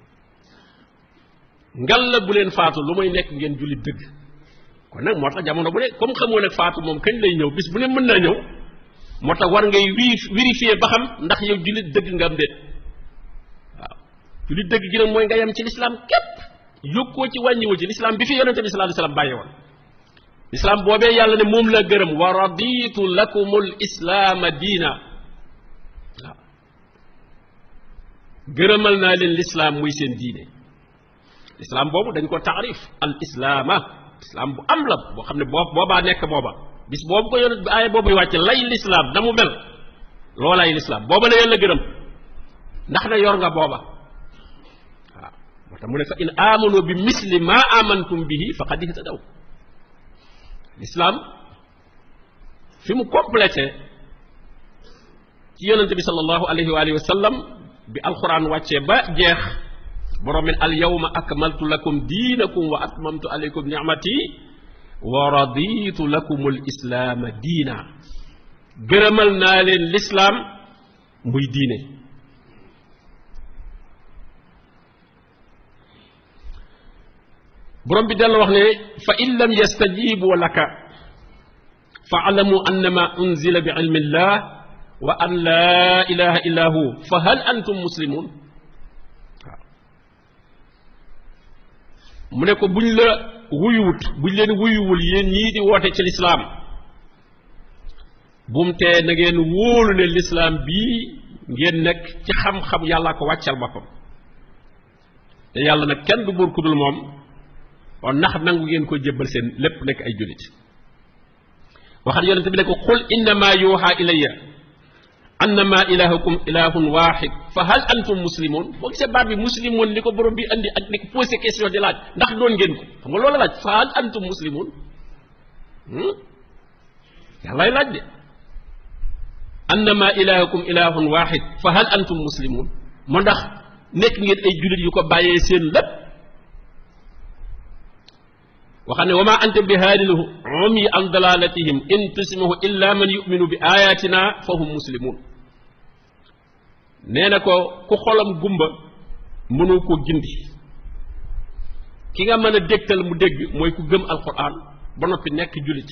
ngal la bu leen faatu lu may nekk ngeen jullit dëgg kon nag moo tax jamono bu ne comme xamoo nag faatu moom kañ lay ñëw bis bu ne mën naa ñëw moo tax war ngay vérifier ba xam ndax yow jullit dëgg nga am déet waaw jullit dëgg gi nag mooy nga yem ci lislaam képp yokkoo ci wàññiwoo ci lislaam bi fi yonente bi sallallahu alayhi wasallam bàyyi woon lislaam boobee yàlla ne moom la gërëm wa raditu lakumul islaama diina waaw gërëmal naa leen lislaam muy seen diine lislaam boobu dañ ko taarif al islaama lislaam bu am la boo xam ne boobu boobaa nekk booba bis boobu ko yonent bi aaya boobu wàcc lay lislaam na mu mel loolaay lislaam booba la yàlla gërëm ndax na yor nga booba waaw moo tax mu ne fa in amanu bi misli ma amantum bihi faqad ihtadaw lislaam fi mu complété ci yonente bi sallallahu alayhi wa alihi wa sallam bi alquran wàccee ba jeex borom min al yawma akmaltu lakum diinakum wa atmamtu alaykum ni'mati wa raditu lakum al islaama diina gërëmal naa leen lislaam muy diine borom bi dellu wax ne fa in lam yastajibu laka fa alamu annama unzila bi ilmi llah wa an laa ilaha illa hu fa hal antum muslimun waaw mu ne ko buñ la wuyuwut buñ leen wuyuwul yéen ñii di woote ci lislaam bum tee na ngeen wóolu ne lislaam bii ngeen nekk ci xam-xam yàlla ko wàccal boppam te yàlla nag kenn du buur ku dul moom kon ndax nangu ngeen ko jébbal seen lépp nekk ay jullit waxat yonente bi ne ko qul innama yuuxa ilayya annama ilahukum ilahun waxid fa hal antum muslimun boo gisee baat bi muslimun li ko borom bi andi ak ni ko posé question di laaj ndax doon ngeen ko xam nga loola laaj fa hal antum muslimun yàllaay laaj de annama ilahukum ilahun waxid fa hal antum muslimun moo ndax nekk ngeen ay jullit yu ko bàyyee seen lépp waxam ne wa ma anta bi haadil umyi an dalalatihim in tusmihu illa man yuminu bi ayatina fa hum muslimun nee na ko ku xolam gumba mënu ko gindi ki nga mën a dégtal mu dégg mooy ku gëm alquran ba noppi nekk jullit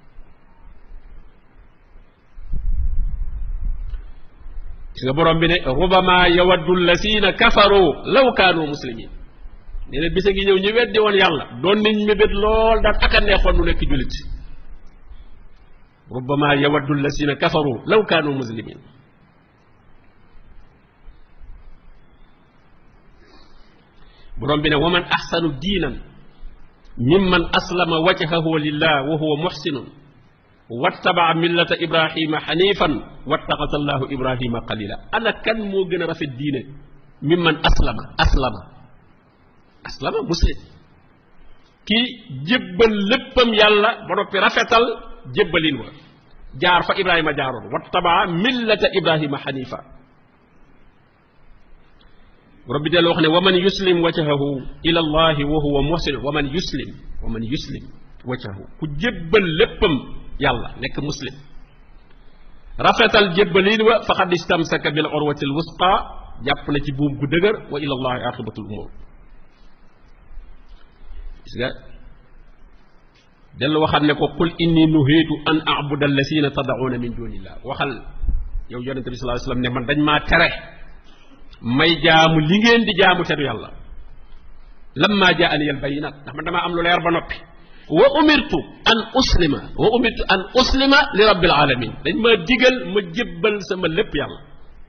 si nga borom bi ne rubama yawaddu allasina kafaru law kaanu muslimin nee na bisa ngi ñëw ñu weddi woon yàlla doon nañ mébét lool daan aka neexoon nu nekk jullit rubbama yawaddu allasina kafaru law kaanu muslimin borom bi ne wa man axsanu diinan mimman aslama wajhahu lillah wa huwa muxsinun wattabaa millata ibrahima xanifan wattaxasa allahu ibrahima qalila ana kan moo gën a rafet diine mimman aslama aslama aslama muslim kii jébbal léppam yàlla ba noppi rafetal jébbalin wa jaar fa ibrahima jaaroon wattabaa millata ibrahima xanifa rabbi delloo wax ne wa man yuslim wajhahu ila allahi wa huwa muhsin wa man yuslim wa man yuslim wajhahu ku jébbal léppam yàlla nekk muslim rafetal jébbalin wa faqad istamsaka bil urwati al wusqa jàpp na ci buum gu dëgër wa ila allahi aqibatul umur gis nga dellu waxal ne ko qul inni nuhiitu an abuda allasina tad'una min dunillah waxal yow yonente bi sallallahu alayhi wasallam ne man dañ maa tere may jaamu li ngeen di jaamu teru yàlla lamma jaani al bayinat ndax man damaa am lu leer ba noppi wa umirtu an uslima wa umirtu an uslima li rabbil alamin dañ ma digal ma jébbal sama lépp yàlla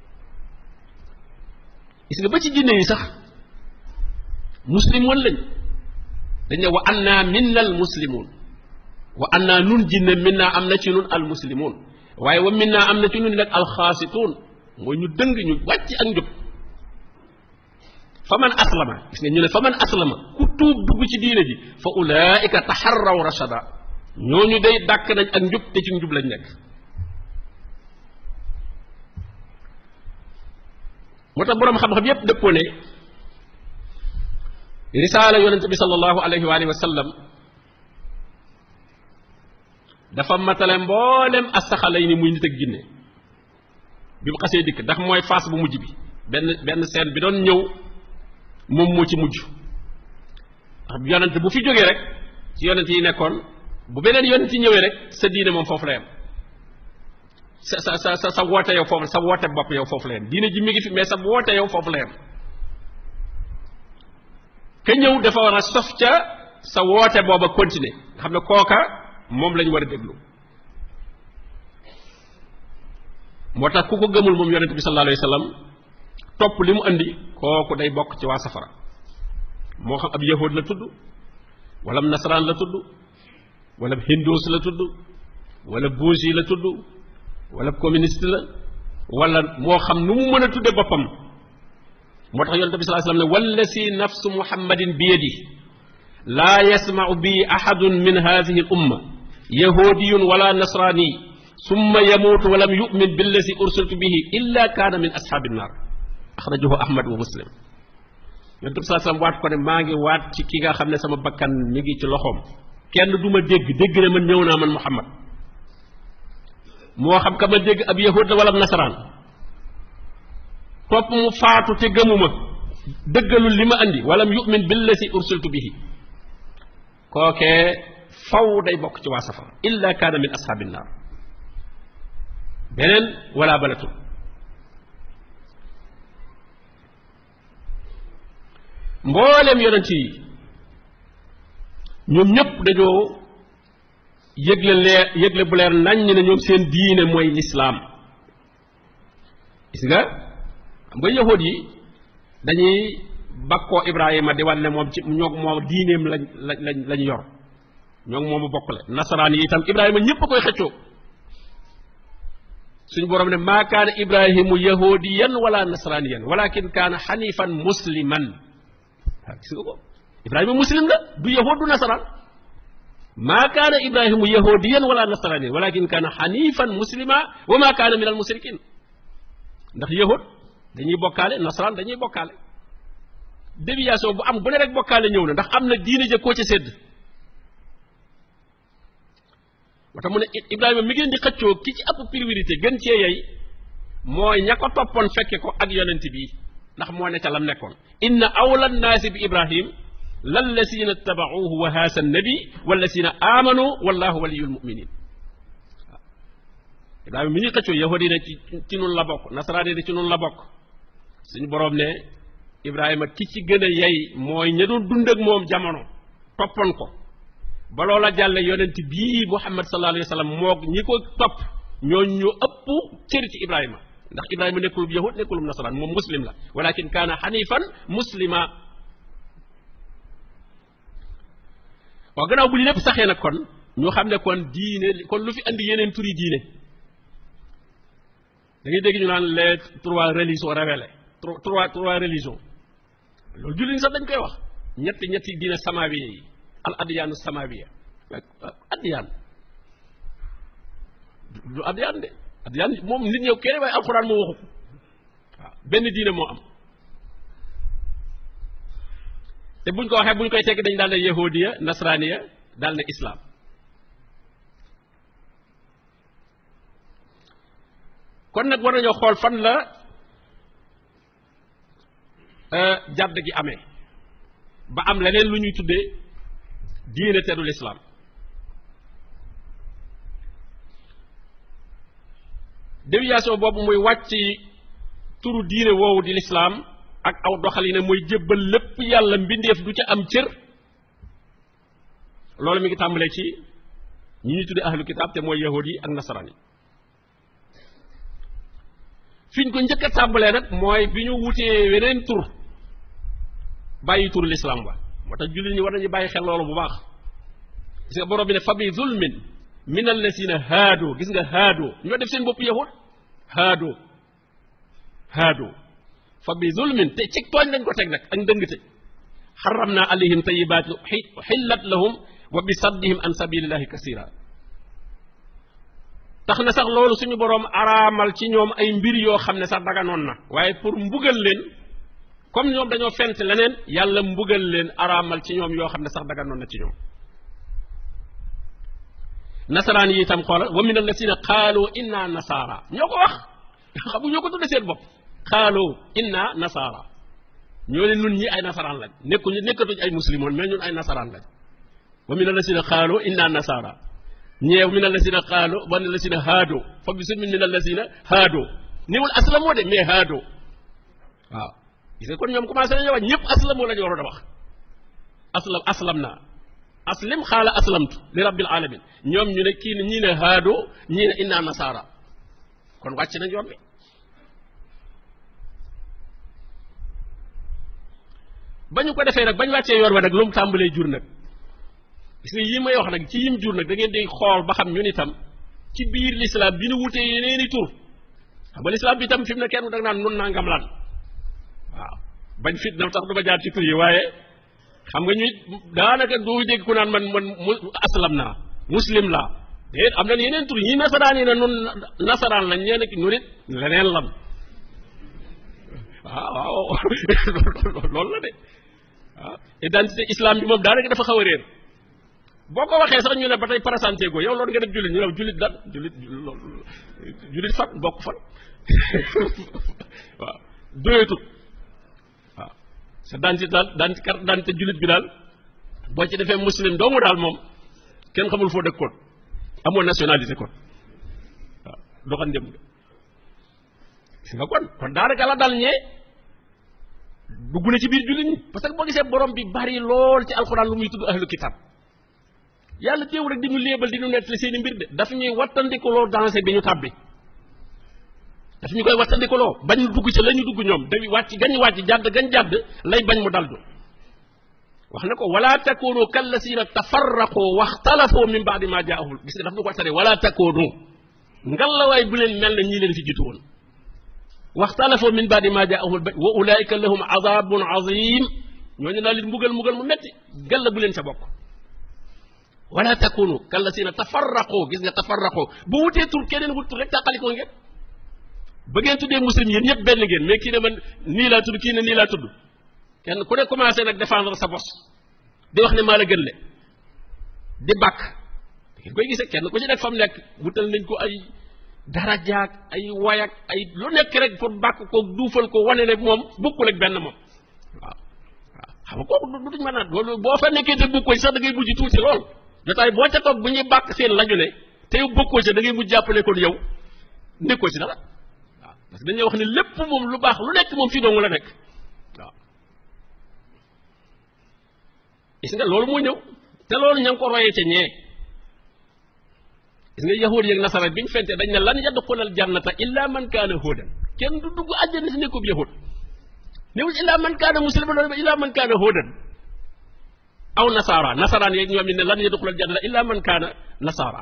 gis nga ba ci jinne yi sax muslimoon lañ dañ ne wa anna minna al muslimun wa anna nun jinne minna am na ci nun al muslimun waaye wa minna am na ci nun nag al xaasituun mooy ñu dëng ñu wàcc ak njub fa man aslama gis nga ñu ne fa man aslama ku tuub dugg ci diine ji fa ulaika taxarraw rashada ñooñu day dàkk nañ ak njub te ci njub lañ nekk moo tax boroom xam-xam yépp dëppoo ne risaala yonente bi sallallahu alayhi wa alihi wa sallam dafa matale mboolem asaxalay ni muy nit ak jinne bi mu xasee dikk ndax mooy phase bu mujj bi benn benn scène bi doon ñëw moom moo ci mujj ndax yonent bu fi jógee rek ci yonent yi nekkoon bu beneen yonent yi ñëwee rek sa diine moom foofu la yem sa sa sa sa sa woote yow foofu sa woote bopp yow foofu la yem diine ji mi ngi fi mais sa woote yow foofu la yem ka ñëw dafa war a sof ca sa woote booba continuer nga xam ne kooka moom lañ war a déglu moo tax ku ko gëmul moom yonent bi sallallahu alayhi wa sallam topp li mu andi kooku day bokk ci waa safara moo xam ab yahud la tudd wala nasaraan la tudd wala hindus la tudd wala bougie la tudd wala communiste la wala moo xam nu mu mën a tudde boppam moo tax yonent bi sallallahu alayhi wa sallam ne wallasi nafsu muhammadin bi yadi laa yasmau bi ahadun min hadihi al umma yahudiyun wala nasrani summa yamuutu walam yumin billasi ursiltu bihi illa kaana min ashaabi nnaar axrajahu ahmad wa muslim yonent bi sallallahu alayhi wa sallam waat ko ne maa ngi waat ci ki nga xam ne sama bakkan mi ngi ci loxoom kenn du ma dégg dégg ne man ñëw naa man muhammad moo xam ka ma dégg ab yahud la wala nasaraan topp mu faatu te gëmuma dëggalul li ma andi walam yumin billasi ursiltu bihi kookee faw day bokk ci waa safara illa kaana min ashaabi nnaar beneen wala balatul mbooleem yonent yi ñoom ñëpp dañoo yëgle leer yëgle bu leer nañ ne ñoom seen diine mooy lislaam gis nga xam nga yahud yi dañuy bakkoo Ibrahima di wan ne moom ci ñoog moom diineem lañ lañ lañ yor ñoog moomu bokkule nasaraan yi itam Ibrahima ñëpp a koy xëccoo suñu borom ne maa kaana Ibrahimu yahudiyan wala nasraniyan walakin kaana xanifan musliman waaw gis nga ko Ibrahima muslim la du yahud du nasaraan maa kaana Ibrahimu yahudiyan wala nasraniyan walakin kaana xanifan muslima wa maa kaana min al musrikin ndax yahud dañuy bokkaale nasaraan dañuy bokkaale déviation bu am bu ne rek bokkaale ñëw na ndax am na diine ja koo ca sédd moo tax mu ne Ibrahima mi ngeen di xëccoo ki ci ëpp priorité gën cee yey mooy ña ko toppoon fekke ko ak yonent bi ndax moo ne ca lam nekkoon inna awla nnaasi bi Ibrahim lallazina tabauhu wa haasa nabi wallazina amanu wallahu waliyul muminin waaw Ibrahima mi ñuy xëccoo yahudi ne ci ci nun la bokk nasaraani ne ci nun la bokk suñu boroom ne Ibrahima ki ci gën a yey mooy ña doon dund ak moom jamono toppoon ko ba loola jàlle yonent bii Muhammad sallallahu alayhi wa sallam moog ñi ko topp ñooñ ñu ëpp cër ci Ibrahima ndax Ibrahima nekkulub yahud nekkulub nasaraan moom muslim la walakin kaana xanifan muslima waaw gannaaw bu li lépp saxee nag kon ñu xam ne kon diine kon lu fi andi yeneen turi diine da ngay dégg ñu naan les trois religions révélées trois trois religions loolu jullit ñi sax dañ koy wax ñetti ñetti diine samawiya yi al adyaanu samawiya adyaan du adyaan de adyaan moom nit ñëw kenn waaye alxuraan moo waxu ko waaw benn diine moo am te buñ ko waxee buñ koy tekki dañ daal ne yahudiya nasraniya daal ne islam kon nag war nañoo xool fan la jàdd gi amee ba am leneen lu ñuy tuddee diine te du lislaam déviation boobu muy wàcc turu diine woowu di lislaam ak aw doxalina mooy jébbal lépp yàlla mbindeef du ca am cër loolu mi ngi tàmbalee ci ñi ñuy tuddee ahlu kitaab te mooy yahud yi ak nasaraan yi fi ñu ko njëkk a tàmbalee nag mooy bi ñu wutee weneen tur bàyyi tur lislaam ba moo tax jullit ñi war nañu bàyyi xel loolu bu baax gis nga borom bi ne fa bi zulmin min allasina haadoo gis nga haadoo ñoo def seen bopp yahud haadoo haadoo fa bi zulmin te ci tooñ lañ ko teg nag ak ndëngte xaram naa alayhim tayibaati xillat lahum wa bi saddihim an sabilillahi kasira tax na sax loolu suñu boroom araamal ci ñoom ay mbir yoo xam ne sax daganoon na waaye pour mbugal leen comme ñoom dañoo fent leneen yàlla mbugal leen araamal ci ñoom yoo xam ne sax daganoon na ci ñoom nasaraan yi itam xoolal wa min allasina qaalu inna nasaara ñoo ko wax xam nga ñoo ko tudde seen bopp qaalu inna nasaara ñoo ne nun ñi ay nasaraan lañ nekkuñu nekkatuñ ay muslimoon mais ñun ay nasaraan lañ wa min allasina qaalu inna nasaara ñeew min allasina qaalu wa min allasina haado fa bi sun min allasina haado niwul aslamoo de mais haado waaw gis nga kon ñoom commencé nañu wax ñëpp aslamoo la ñu waroon a wax aslam aslam naa aslim xaala aslamtu li rabbil alamin ñoom ñu ne kii ne ñii ne haado ñii ne inna nasara kon wàcc nañ yoon bi ba ñu ko defee nag bañ wàccee yoon wa nag lu mu tàmbalee jur nag gis nga yi may wax nag ci yim jur nag da ngeen di xool ba xam ñun itam ci biir l'islam bi nu wutee yeneeni tur xam nga l'islam bi itam fi mu ne kenn da nga naan nun nangam lan waaw bañ fit na tax du ma jaar ci tur yi waaye xam nga ñu daanaka doo dégg ku naan man man aslam naa muslim laa déet am na yeneen tur ñi nasaraan yi ne nun nasaraan lañ ñee nekk ñu nit leneen lan waaw waaw loolu la de waaw identité islam bi moom daanaka dafa xaw a réer boo ko waxee sax ñu ne ba tey présenté go yow loolu nga def jullit ñu ne jullit dan jullit jullit fan bokk fan waaw doyatut waaw sa dentité daal daan carte d'identité jullit bi daal boo ci defee muslim doomu daal moom kenn xamul foo dëkkoon amoo nationalité kon waaw doxan dem si nga kon kon daanaka la dal ñee dugg na ci biir jullit ñi parce que boo gisee borom bi bari lool ci alxuraan lu muy tudd ahlu kitab yàlla teew rek di ñu léebal di ñu nettali seen i mbir de daf ñuy wattandikuloo dansé bi ñu tàbbi daf ñu koy wattandikuloo bañ dugg ci la ñu dugg ñoom dañuy wàcc gañ wàcc jàdd gañ jàdd lay bañ mu daldu wax na ko wala takunu kallasina tafarraqu waxtalafoo min baadi ma jaahul gis nga daf ñu ko tere wala takunu ngalawaay bu leen mel na ñii leen fi jiitu woon waxtalafoo min baadi ma jaahul wa ulaika lahum adabun azim ñooñu daal leen mbugal mbugal mu metti galla bu leen sa bokk wala takunu kallasina tafarraqu gis nga tafarraqu bu wutee tur keneen wut tur rek tàqalikoo ngeen ba ngeen tuddee muslim yéen ñëpp benn ngeen mais kii ne man nii laa tudd kii ne nii laa tudd kenn ku ne commencé nag défendre sa bos di wax ne maa la gën le di bàkk ngeen koy gisee kenn ku ci nekk fa mu nekk wutal nañ ko ay darajaak ay wayak ay lu nekk rek pour bàkk ko duufal ko wane ne moom bokkul ak benn moom waaw waaw xam nga kooku du duñ mën a loolu boo fa nekkee te bokkoo sax da ngay mujj tuuti lool jotaay boo ca toog bu ñuy bàkk seen lañu ne te yow bokkoo ci da ngay mujj jàppale kon yow nekkoo ci dara waaw parce que dañuy wax ne lépp moom lu baax lu nekk moom fii dong la nekk waaw gis nga loolu moo ñëw te loolu ña ngi ko royee ca ñee gis nga yahuud yeeg nasara bi ñu fente dañ ne lan yadxulal jannata illa man kaana huudan kenn du dugg àjjana si nekkub yahuud newul illa man kaana musliman illa man kaana huudan aw nasara nasaraan yeeg ñoom it ne lan yadxulal jannata illa man kaana nasara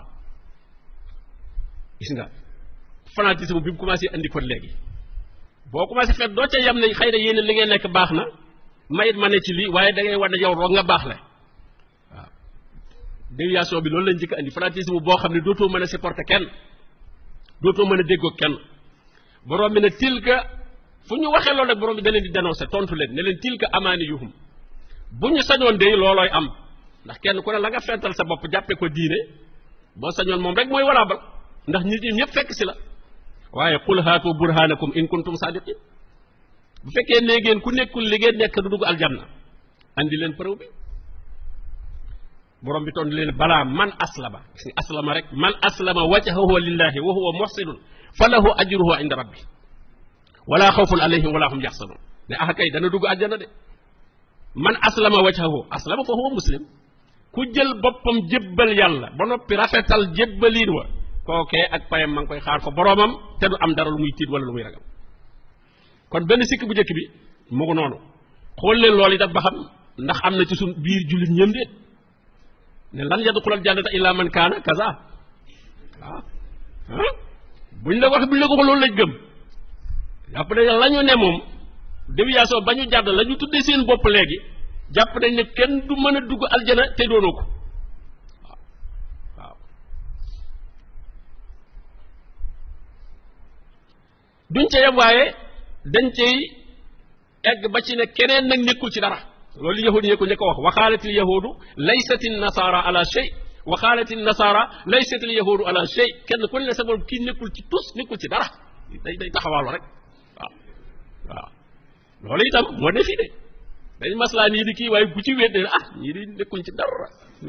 gis nga fanatisme bi mu commencé andi kon léegi boo commencé fet doo ca yem ne xëy na yéen li ngeen nekk baax na mayit ma ne ci lii waaye da ngay war ne yow roog nga baax la waaw déviation bi loolu lañ njëkk andi fanatisme boo xam ne dootoo mën a supporter kenn dootoo mën a déggoo kenn borom bi ne tilka fu ñu waxee loolu nag borom bi da leen di dénoncer tontu leen ne leen tilka amaani yuhum bu ñu sañoon de loolooy am ndax kenn ku ne la nga fental sa bopp jàppee ko diine boo sañoon moom rek mooy walaabal ndax nit ñi ñëpp fekk si la waaye qul haatu burhanakum in kuntum sadiqin bu fekkee ne ngeen ku nekkul li ngeen nekk du dugg aljanna andi leen preuve bi borom bi tontu leen balaa man aslama gis nga aslama rek man aslama wajhahu lillahi wa huwa muhsinun falahu ajruhu inda rabbi wala xawfun alayhim wala hum yaxsanun ne ah kay dana dugg aljanna de man aslama wajhahu aslama fa huwa muslim ku jël boppam jébbal yàlla ba noppi rafetal jébbaliin wa kookee ak payam ma ngi koy xaar fa boromam te du am dara lu muy tiit wala lu muy ragal kon benn sikk bu njëkk bi mu ngi noonu xool leen loolu itam ba xam ndax am na ci suñ biir jullit ñëm de ne lan yadxulal jannata illa man kaana kaza waaw ah buñ la wax buñ la ko loolu lañ gëm jàpp nañ la ñu ne moom déviation ba ñu jàdd la ñu tuddee seen bopp léegi jàpp nañ ne kenn du mën a dugg aljana te doonoo ko waaw waaw duñ ca yem waaye dañ cay egg ba ci ne keneen nag nekkul ci dara loolu yahudi yi ko njëkk a wax waxaalatil yahudu laysatin nasara ala shay waxaalatil nasara laysatil yahudu ala shay kenn ku ne sa borom kii nekkul ci tus nekkul ci dara day day taxawaalu rek waaw waaw loolu itam moo ne fii de dañ maslaa nii di kii waaye bu ci wéet ne ah ñii di nekkuñ ci dara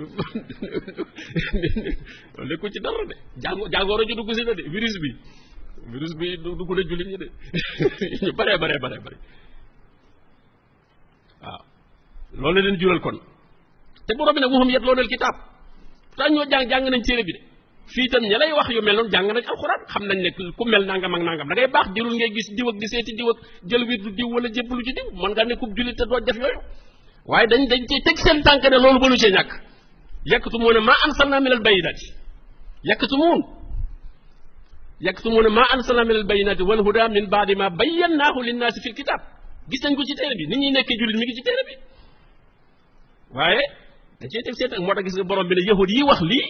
loolu nekkuñ ci dara de jàngo jàngooro ji dugg si na de virus bi virus bi dugg na jullit ñi de ñu baree baree baree bare waaw loolu leen jural kon te borom bi nag waxum yatluuna al-kitaab pourtant ñoo jàng jàng nañ téere bi de fii itam ña lay wax yu mel noonu jàng nañ alxuraan xam nañ ne ku mel nangam ak nangam da ngay baax jërul ngay gis diw ak di seeti diw ak jël wirdu diw wala jébbalu ci diw mën nga ne ku jullit te doo def yooyu waaye dañ dañ cey teg seen tànk ne loolu mënu cee ñàkk yaktumuuna maa anzalnaa minal bayyinaati yaktumuun yaktumuuna maa anzalnaa minal bayyinaati wal hudaa min ba'di maa bayyannaahu linnaasi fil kitaab gis nañ ko ci téere bi nit ñi nekkee jullit mi ngi ci téere bi waaye dañ cey teg seen tànk moo tax gis nga borom bi ne yahud yi wax lii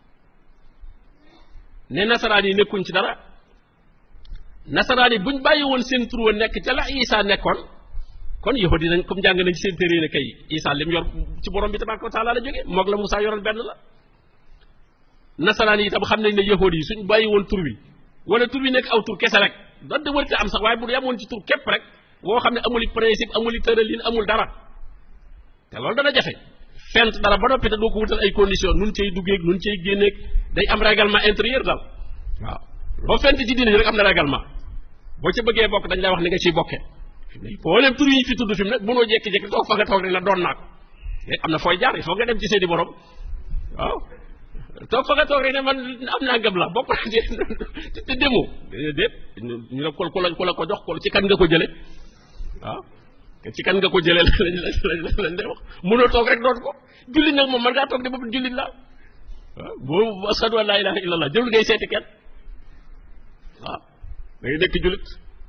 ne nasaraan yi nekkuñ ci dara nasaraan yi buñ bàyyi woon seen tur wa nekk ca la Isa nekkoon kon yahudi nañ comme jàng nañ ci seen téere ne kay Isa lim yor ci borom bi tabaaraka wa taala la jóge moog la Musaa yoroon benn la nasaraan yi itam xam nañ ne yahudi yi suñ bàyyi woon tur wi wala tur wi nekk aw tur kese rek donte wërte am sax waaye bu yamoon ci tur képp rek boo xam ne amuli principe amuli tëralin amul dara te loolu dana jafe fent dara ba noppi te doo ko wutal ay conditions nun cay duggeeg nun cay génneeg day am règlement intérieur daal waaw loo fent ci diine ji rek am na règlement boo ca bëggee bokk dañ lay wax ni nga ciy bokkee fi mu ne booleem tur yi fi tudd fi mu ne mënoo jékki-jékki toog fa nga toog rek la doon naa ko am na fooy jaar il faut nga dem ci seeni borom waaw toog fa nga toog rek ne man am naa ngëm la bokk te te demoo déet ñu la ko ku la ku la ko jox ko ci kan nga ko jële waaw ci kan nga ko jëlee lañ lañ lañ lay wax mënoo toog rek doon ko jullit nag moom mën ngaa toog de bopp jullit la waaw boo ashadu an laa ilaaha illallah jëlul ngay seeti kenn waaw da ngay nekk jullit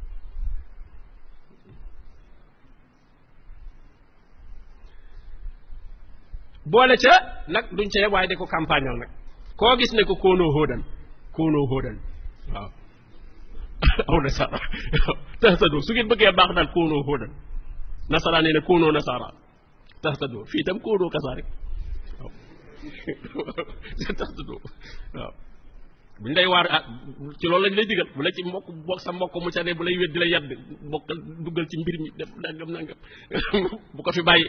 boole ca nag duñ ca waaye de ko campagnal nag koo gis ne ko koonoo hóodan koonoo hóodan waaw aw nasara tahtadoo su ngeen bëggee baax daal koonoo hóodan nasara nee na koonoo nasara tahtadoo fii itam koonoo kasaa rek waaw tahtadoo waaw buñ lay waar ah ci loolu lañ lay digal bu la ci mbokk bokk sa mbokk mu ca ne bu lay wét di la yedd bokk duggal ci mbir mi def nangam nangam bu ko fi bàyyi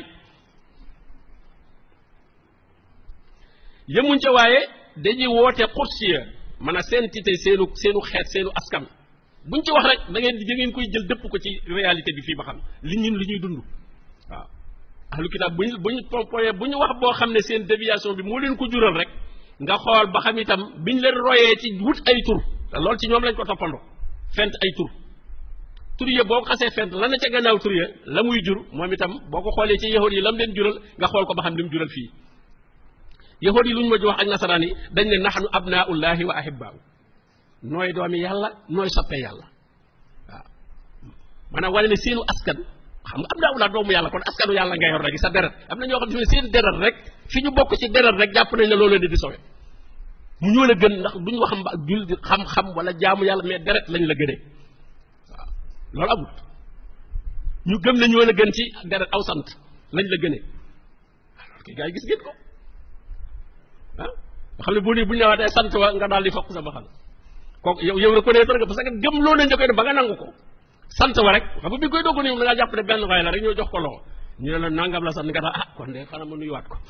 yemuñ ca waaye dañuy woote xursiya man a seen tite seenu seenu xeet seenu askan buñ ci wax rek da ngeen da ngeen koy jël dëpp ko ci réalité bi fii ba xam li ñun li ñuy dund waaw ahlu kitaab buñ buñ pompoyee bu ñu wax boo xam ne seen déviation bi moo leen ko jural rek nga xool ba xam itam biñ leen royee ci wut ay tur te loolu ci ñoom lañ ko toppandoo fent ay tur tur ya boo ko xasee fent la na ca gannaaw tur ya la muy jur moom itam boo ko xoolee ci yahud yi la mu leen jural nga xool ko ba xam li mu jural fii yahud yi lu ñu ma wax ak nasaraan yi dañ ne nahnu abnaullahi wa ahibbaahu nooy doomi yàlla nooy soppee yàlla waaw maanaam wane ne seenu askan xam nga abnaullah doomu yàlla kon askanu yàlla nga yor rek sa deret am na ñoo xam ne seen deret rek fi ñu bokk ci deret rek jàpp nañ ne loolu leen di sowe mu ñoo la gën ndax duñ wax jul xam-xam wala jaamu yàlla mais deret lañ la gënee waaw loolu amul ñu gëm ne ñoo la gën ci deret aw sant lañ la gënee alors que gars yi gis ngeen ko ah nga xam ne boo nii bu ñu ñëwaatee sant wa nga daal di fokk sa baxal kooku yow yow reconnaître nga parce que gëm loo nañ da koy def ba nga nangu ko sant wa rek xam nga bi koy dogg nii da ngaa jàpp ne benn waay la rek ñoo jox ko loxo ñu ne la nangam la sant nga tax ah kon de xanaa ma nuyuwaat ko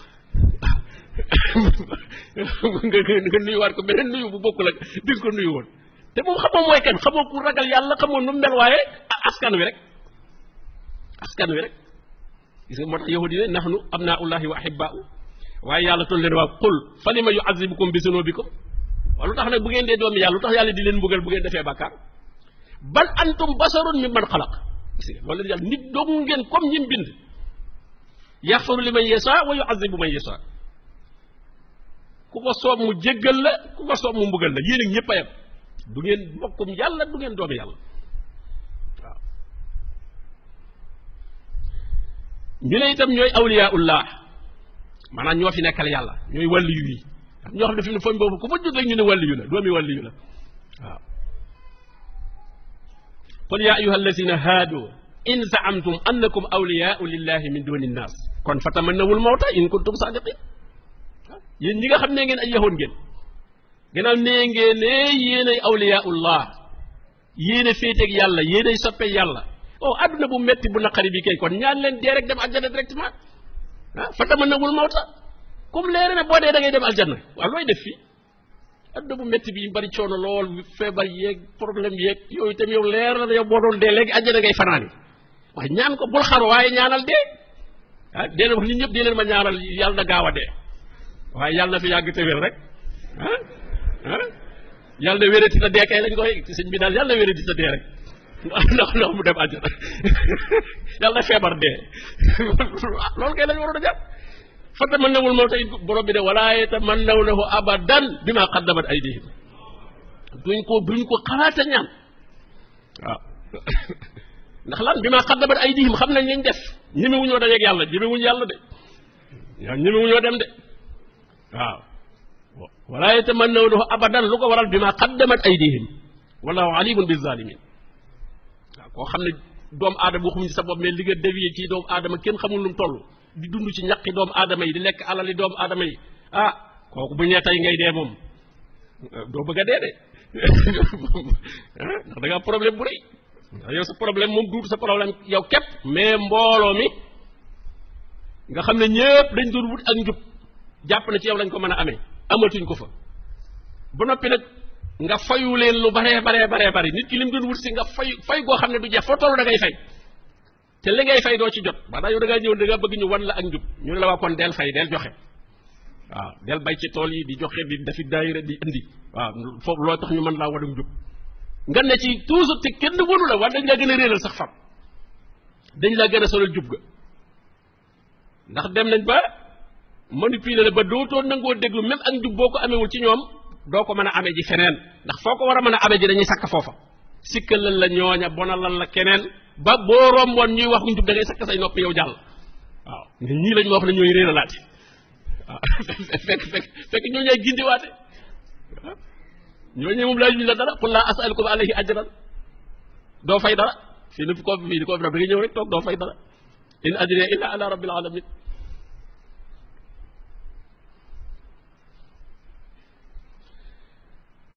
nga nga nuyuwaat ko beneen nuyu bu bokkul ak di nga ko nuyu woon te moom xamoo mooy kan xamoo ku ragal yàlla xamoo nu mel waaye askan wi rek askan wi rek gis nga moo tax yahudi ne nahnu abnaullahi wa ahibbaahu waaye yàlla toll leen waa qul fa lima yu'azzibukum bi zunubikum waaw lu tax nag bu ngeen dee doomi yàlla lu tax yàlla di leen mbugal bu ngeen defee bàkkaar bal antum basarun mimman xalaq gis nga loolu yàlla nit doomu ngeen comme ñim bind yaxfaru liman yasha wa yu'azzibu man yasha ku ko soob mu jéggal la ku ko soob mu mbugal la yéen ak ñëpp a yem du ngeen mbokkum yàlla du ngeen doomi yàlla waaw ñu ne itam ñooy awliyaullah maanaam ñoo fi nekkal yàlla ñooy wàlliyu yi ñoo xam ne fi mu ne foñ boobu ku fa jóg rek ñu ne wàlliyu la doomi wàlliyu la waaw qul ya ayuha allazina haadu in zaamtum annakum awliyaau lillahi min duni nnaas kon fa tamannawul mawta in kuntum sadiqin yéen ñi nga xam ne ngeen ay yahoon ngeen gannaaw nee ngeen ne yéenay awliyaullah yéen a féeteeg yàlla yéen ay soppe yàlla oh adduna bu metti bu naqari bi kay kon ñaan leen dee rek dem aljana directement ah fa tamannawul mawta comme leere ne boo dee da ngay dem aljanna waaw looy def fii adduna bu métti bi bari coono lool feebar yeeg problème yeeg yooyu itam yow leer na yow boo doon dee léegi aljanna ngay fanaani waaye ñaan ko bul xaru waaye ñaanal dee ah dee leen wax nit ñëpp dee leen ma ñaanal yàlla na gaaw a dee waaye yàlla na fi yàgg te wér rek ah ah yàlla na wérati ta dee kay lañ koy sëñ bi daal yàlla na wérati ta dee rek ndax ndax mu dem àjjana yàlla na feebar dee loolu kay lañ waroon a jàpp fata mën nawul moo tey borom bi de wala yatamannawnahu abadan bima qaddamat aydihim duñ ko duñ ko xalaata ñaan waaw ndax lan bima qaddamat aydihim xam nañ lañ def ñemewuñoo dajeeg yàlla ñemewuñu yàlla de waaw ñemewuñoo dem de waaw wala yatamannawnahu abadan lu ko waral bima qaddamat aydihim wallahu alimun bizalimin waaw koo xam ne doomu aadama waxuñu sa bopp mais li nga dévié ci doomu aadama kenn xamul lu mu toll di dund ci ñaqi doomu aadama yi di lekk alali doomu aadama yi ah kooku bu ñee tey ngay dee moom doo bëgg a dee de ndax da nga problème bu rëy ndax yow sa problème moom duutu sa problème yow képp mais mbooloo mi nga xam ne ñëpp dañ doon wut ak njub jàpp na ci yow lañ ko mën a amee amatuñ ko fa ba noppi nag nga fayu leen lu baree baree baree bari nit ki lim doon wut si nga fay fay goo xam ne du jeex foo toll da ngay fay te li ngay fay doo ci jot maanaam yow da ngaa ñëw da ngaa bëgg ñu wan la ak njub ñu ne la waa kon del fay del joxe waaw del bay ci tool yi di joxe di dafi daayira di indi waaw foofu loo tax ñu mën laa wadum njub nga ne ci toujours te kenn wënu la war dañ laa gën a réeral sax fam dañ laa gën a solal jub ga ndax dem nañ ba manipuler la ba dootoo nangoo déglu même ak njub boo ko amewul ci ñoom doo ko mën a amee ji feneen ndax foo ko war a mën a amee ji dañuy sakk foofa sikkalal la ñooña bonalal la keneen ba boo romboon ñuy wax njub da ngay sakk say noppi yow jàll waaw ne ñii lañ ma wax ne ñooy réeralaate waaw fekk fekk fekk ñoo ñaay gindiwaate waaw ñooñu moom laa ñu la dara qul laa as'alukum alayhi ajran doo fay dara fii ni ko fii ni ko fi da ngay ñëw rek toog doo fay dara in ajriya illa ala rabbil alamin